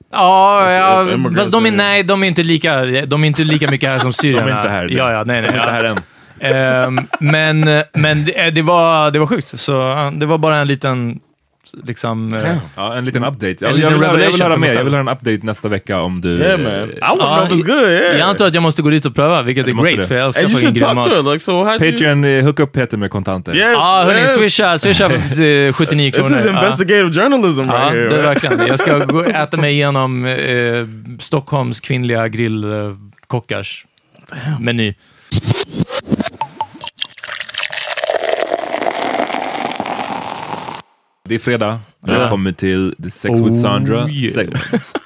Ja, fast de är inte lika mycket här som syrierna. De är inte här. Ja, nej. De är inte här än. Men det var sjukt. Så det var bara en liten liksom... en liten update. Jag vill höra mer. Jag vill höra en update nästa vecka om du... Yeah, man. I want to know if it's good, yeah. Jag antar att jag måste gå dit och pröva, vilket är great, för jag älskar fucking grillmat. Like, so Patreon, hook upp Peter med kontanter. Yes, hörni, swisha 79 kronor. This is investigative journalism right here. Det är verkligen. Jag ska gå äta mig igenom Stockholms kvinnliga grill kockars meny. Det är fredag. Jag kommer till The Sex with Sandra segment.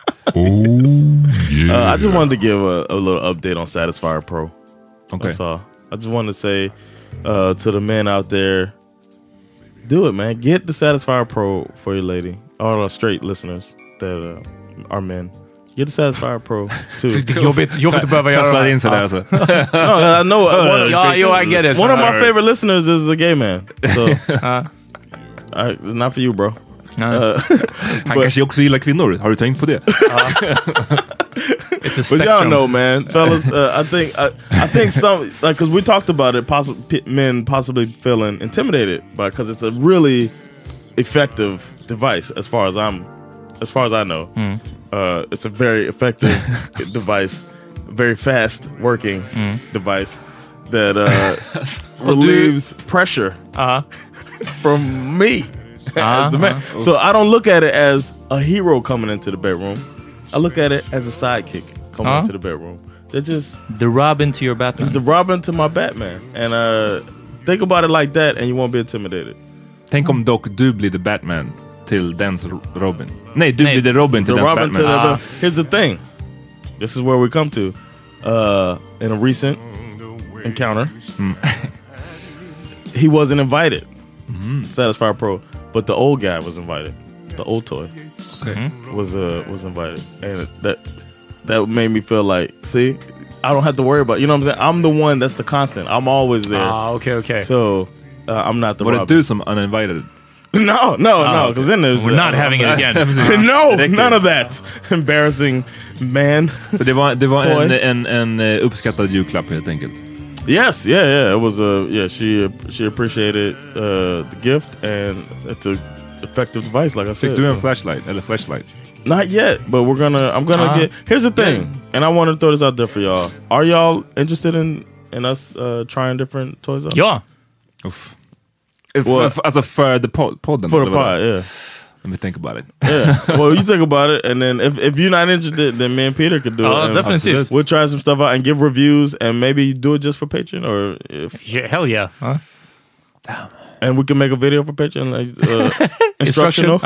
I just wanted to give a little update on Satisfyer Pro. Okay. That's all. I just wanted to say to the men out there, do it, man. Get the Satisfyer Pro for your lady. All our straight listeners that are men. Get the Satisfyer Pro too. Jobbigt att behöva göra in sig där alltså. No, I know. I get it. One of my favorite listeners is a gay man. So, it's not for you, bro. Han kanske också gillar kvinnor. Har du tänkt på det? It's a but y'all spectrum. know, man, fellas. I think some because we talked about it. Men possibly feeling intimidated because it's a really effective device as far as I know. It's a very effective device, very fast working device that relieves pressure from me. As the man. So I don't look at it as a hero coming into the bedroom. I look at it as a sidekick coming into the bedroom. They're just the Robin to your Batman. It's the Robin to my Batman. And think about it like that and you won't be intimidated. Tänk om dock du blir the Batman till dens Robin. Nej, du blir the Robin till dens Robin Batman. Here's the thing. This is where we come to. In a recent encounter, he wasn't invited. Satisfyer Pro. But the old guy was invited. The old toy was invited, and that made me feel like, see, I don't have to worry about. You know what I'm saying? I'm the one that's the constant. I'm always there. Okay. So I'm not the. But it do some uninvited. No, because then there's we're not having it again. No, none of that. Embarrassing man. Så det var en uppskattad julklapp helt enkelt. Yes, yeah. It was she appreciated the gift, and it's a effective device, like I said. Fick du en flashlight eller flashlight? Not yet, but I'm gonna get. Here's the thing, and I want to throw this out there for y'all. Are y'all interested in us trying different toys out? Ja. Uff. Alltså för the podden. For the pod, yeah. Let me think about it. Yeah. Well, you think about it, and then if you're not interested, then me and Peter could do it. Definitely. We'll try some stuff out and give reviews, and maybe do it just for Patreon, or hell yeah. Damn. And we can make a video for Patreon, like instructional.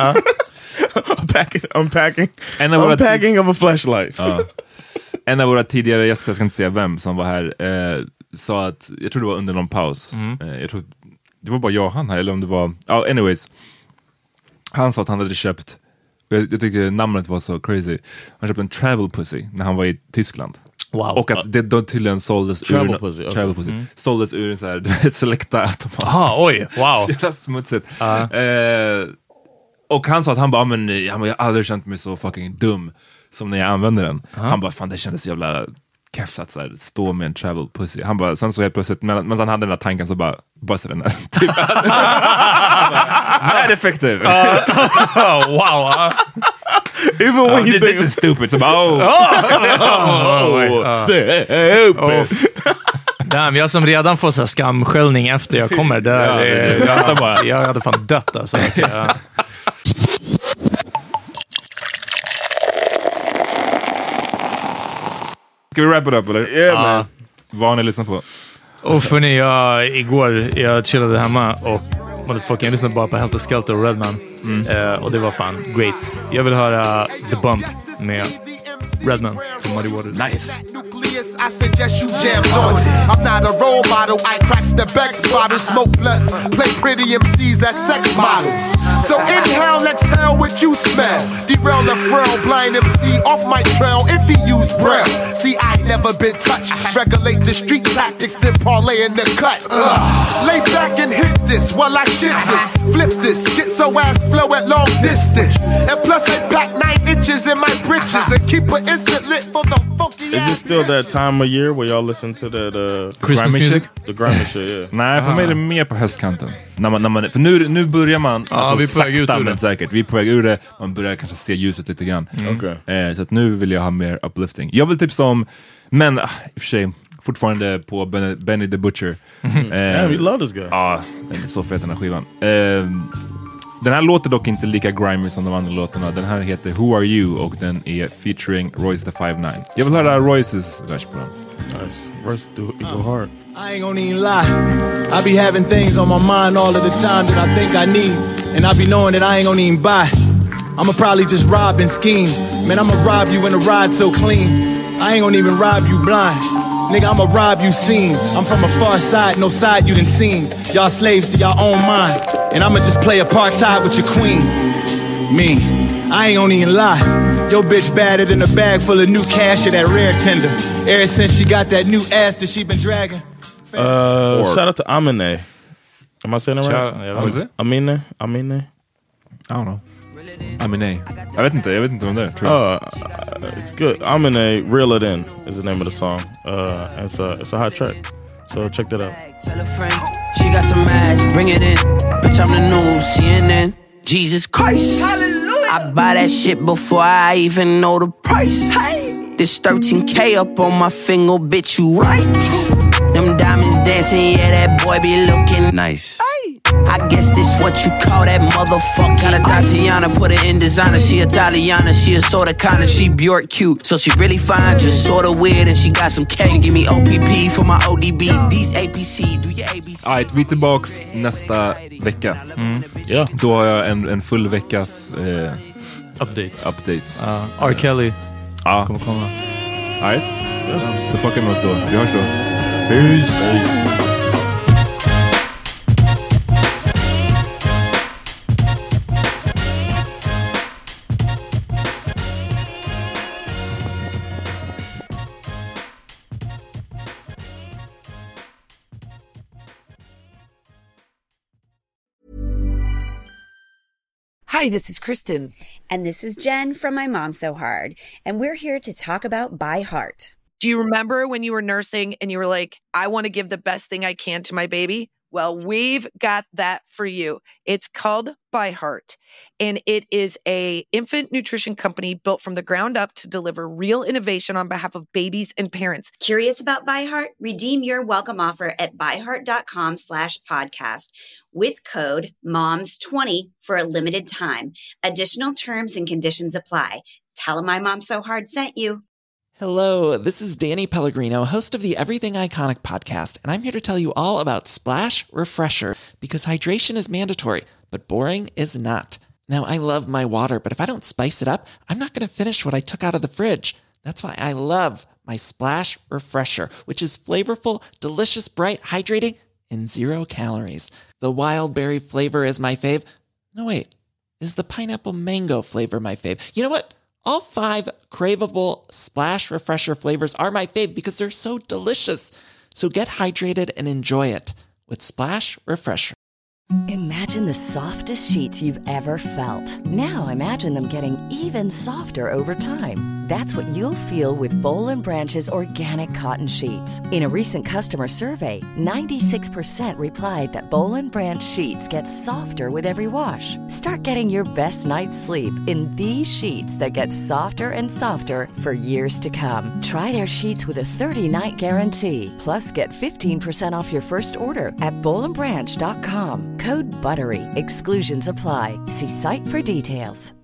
Unpacking of a flashlight. En av våra tidigare gäster, jag ska inte säga vem, som var här, sa att, jag tror det var under någon paus. Jag tror det var bara jag och han här, eller om det var... anyways. Han sa att han hade köpt, jag tycker namnet var så crazy, han köpte en travel pussy när han var i Tyskland. Wow. Och att det då tydligen såldes travel pussy, okay. Travel pussy. Såldes ur en så här Selecta automat. Oj, wow. Så jävla smutsigt. Och han sa att han bara, men jag har aldrig känt mig så fucking dum som när jag använde den. Han bara, fan det kändes jävla keft att så här, stå med en travel pussy. Han bara, sen så helt plötsligt, men han hade den där tanken så bara den där typ. Mad effective. Wow. Even when you think it's stupid. So, stupid. Damn, jag som redan får så här skamskällning efter jag kommer där. Jag hade fan dött alltså. Ska vi wrap it up eller? Yeah, man. Vad har ni lyssnat på? Och för ni, jag chillade hemma och jag lyssnade bara på Helter Skelter och Redman. Och det var fan great. Jag vill höra The Bump med Redman från Muddy Waters. Nice. I suggest you jam on it. I'm not a role model. I cracks the Bex bottle, smoke blunts, play pretty MCs as sex models. So inhale, exhale what you smell. Derail the frail blind MC off my trail if he use braille. See, I never been touched. Regulate the street tactics, then parlay in the cut. Lay back and hit this while I shit this. Flip this, get so ass flow at long distance. And plus I pack 9 inches in my britches and keep an instant lit for the funky ass. Is it still that time of year where y'all listen to that Christmas music? The grimy shit, yeah. Nej, för mig är det mer på höstkanten. När man, för nu börjar man vi är på väg ut ur men säkert. Vi är på väg ur det. Man börjar kanske se ljuset lite grann. Okay. Så att nu vill jag ha mer uplifting. Jag vill typ som, men i och för sig fortfarande på Benny the Butcher. Damn, you love this guy. Ja, den är så fet den här skivan. Den här låter dock inte lika grimy som de andra låtarna. Den här heter Who Are You och den är featuring Royce the 5'9". Jag vill höra Royces vers på den. Nice. Royce do go hard. I ain't gonna even lie. I be having things on my mind all of the time that I think I need, and I be knowing that I ain't gonna even buy. I'ma probably just rob and scheme. Man, I'ma rob you in a ride so clean. I ain't gonna even rob you blind. Nigga, I'ma rob you seen. I'm from a far side, no side you done seen. Y'all slaves to y'all own mind, and I'ma just play apartheid with your queen. Me, I ain't gonna even lie. Yo bitch batted in a bag full of new cash of that rare tender. Ever since she got that new ass that she been dragging. Shout out to Amine. Am I saying it right? What is it? Amine? I don't know. Amine. Jag vet inte vem det är. It's good. Amine, Reel It In is the name of the song. It's a hot track. So check that out. Tell a friend, she got some ass, bring it in. Bitch, I'm the news, CNN. Jesus Christ. Hallelujah. I buy that shit before I even know the price. Hey. This 13K up on my finger, bitch, you right. Them diamonds dancing, yeah, that boy be looking nice. I guess this what you call that motherfucker. Got a Tatiana, put it in designer. She Italiana, she a sorta kinda, she Bjork cute. So she really fine, just sorta weird, and she got some K. Give me OPP for my ODB. These APC, do your ABC. Alright, vi är tillbaks nästa vecka. Yeah. Då har jag en full veckas updates. R. Kelly kommer komma. Alright, så fucka med oss då. Vi hörs då. Peace. Hi, this is Kristen. And this is Jen from My Mom So Hard. And we're here to talk about By Heart. Do you remember when you were nursing and you were like, I want to give the best thing I can to my baby? Well, we've got that for you. It's called By Heart, and it is a infant nutrition company built from the ground up to deliver real innovation on behalf of babies and parents. Curious about By Heart? Redeem your welcome offer at byheart.com/podcast with code MOMS20 for a limited time. Additional terms and conditions apply. Tell them My Mom So Hard sent you. Hello, this is Danny Pellegrino, host of the Everything Iconic podcast, and I'm here to tell you all about Splash Refresher, because hydration is mandatory, but boring is not. Now, I love my water, but if I don't spice it up, I'm not going to finish what I took out of the fridge. That's why I love my Splash Refresher, which is flavorful, delicious, bright, hydrating, and 0 calories. The wild berry flavor is my fave. No, wait, is the pineapple mango flavor my fave? You know what? All 5 craveable Splash Refresher flavors are my fave because they're so delicious. So get hydrated and enjoy it with Splash Refresher. Imagine the softest sheets you've ever felt. Now imagine them getting even softer over time. That's what you'll feel with Boll & Branch's organic cotton sheets. In a recent customer survey, 96% replied that Boll & Branch sheets get softer with every wash. Start getting your best night's sleep in these sheets that get softer and softer for years to come. Try their sheets with a 30-night guarantee. Plus, get 15% off your first order at bollandbranch.com. Code BUTTERY. Exclusions apply. See site for details.